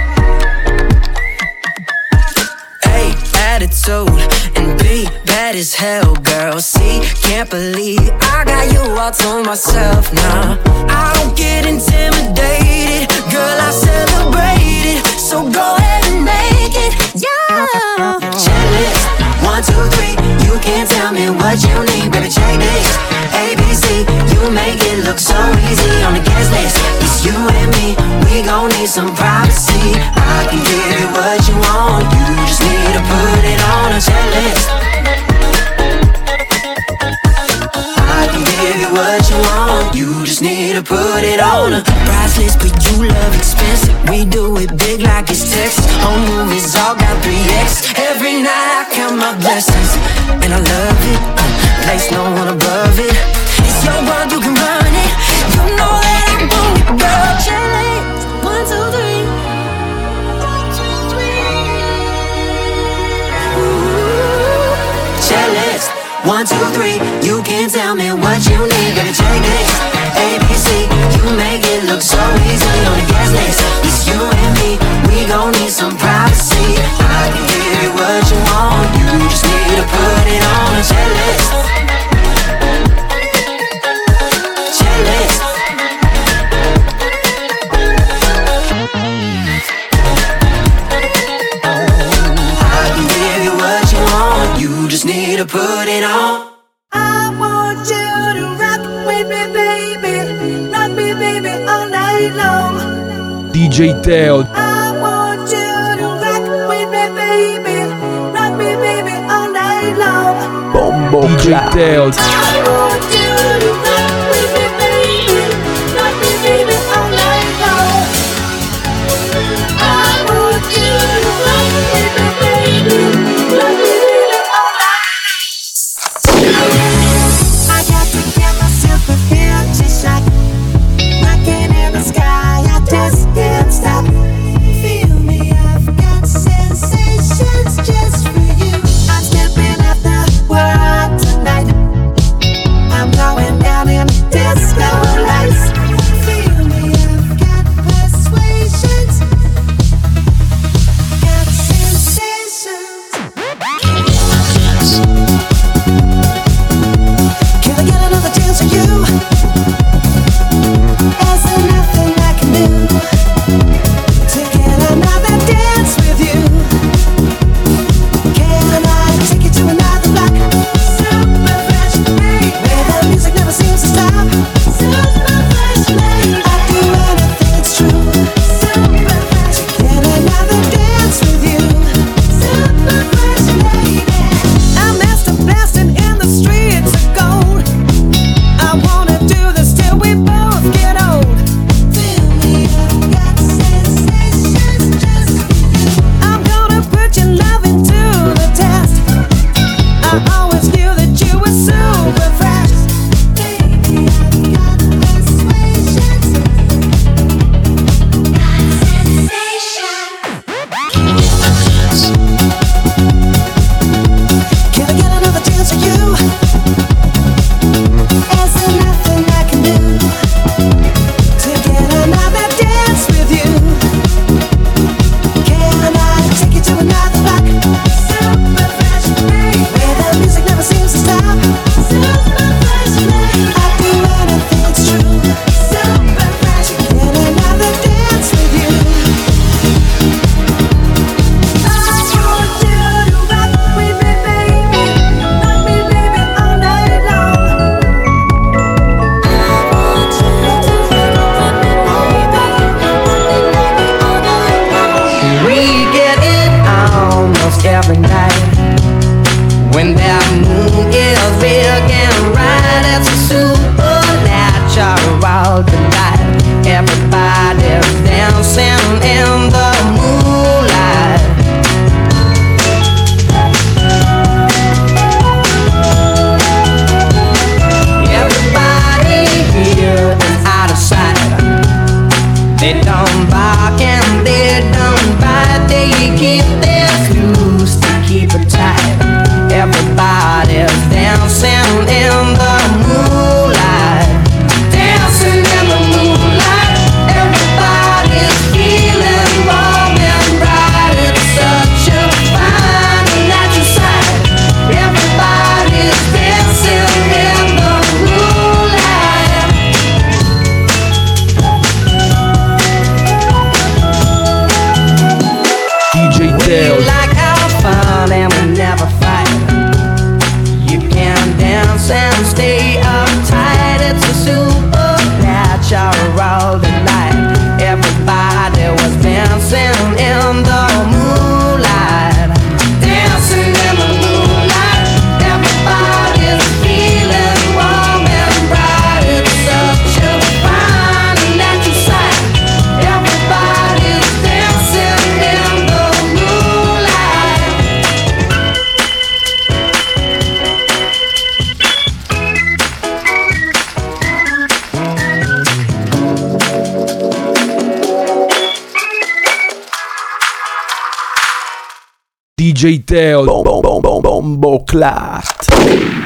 A, attitude, and B, bad as hell, girl. C, can't believe I got you all to myself now. I don't get intimidated, girl, I celebrate it. So go ahead and make it, yeah. Checklist, 1, 2, 3. You can't tell me what you need, baby, check this. ABC, you make it look so easy on the guest list. It's you and me, we gon' need some privacy. I can give you what you want, you just need to put it on a checklist. I can give give you what you want. You just need to put it on. Priceless, but you love expensive. We do it big like it's Texas. Home movies all got 3X. Every night I count my blessings, and I love it. Place no one above it. It's your world, you can run it. You know that I want it, girl. Challenge, 1, 2, 3. 1, 2, 3. Ooh. Challenge, 1, 2, 3. You can tell me what you need, baby. Check this. ABC, you make it look so easy on the guest list. It's you and me. We gon' need some privacy. I can give you what you want. You just need to put it on a checklist. Checklist. I can give you what you want. You just need to put it on. I want you to rock with me, baby. Rock me, baby, all night long. DJ Teo. I want you to rock with me, baby. Rock me, baby, all night long. DJ Teo. I want you to rock with me, baby. Rock me, baby, all night long. I want you to rock with me, baby. Rock me, baby, all night long. I got to get myself a empty shot. Rocking in the sky, I just can't stop. Feel me, I've got sensations just for you. I'm stepping out the world tonight. I'm going down in DJ Teo Bombo Clart.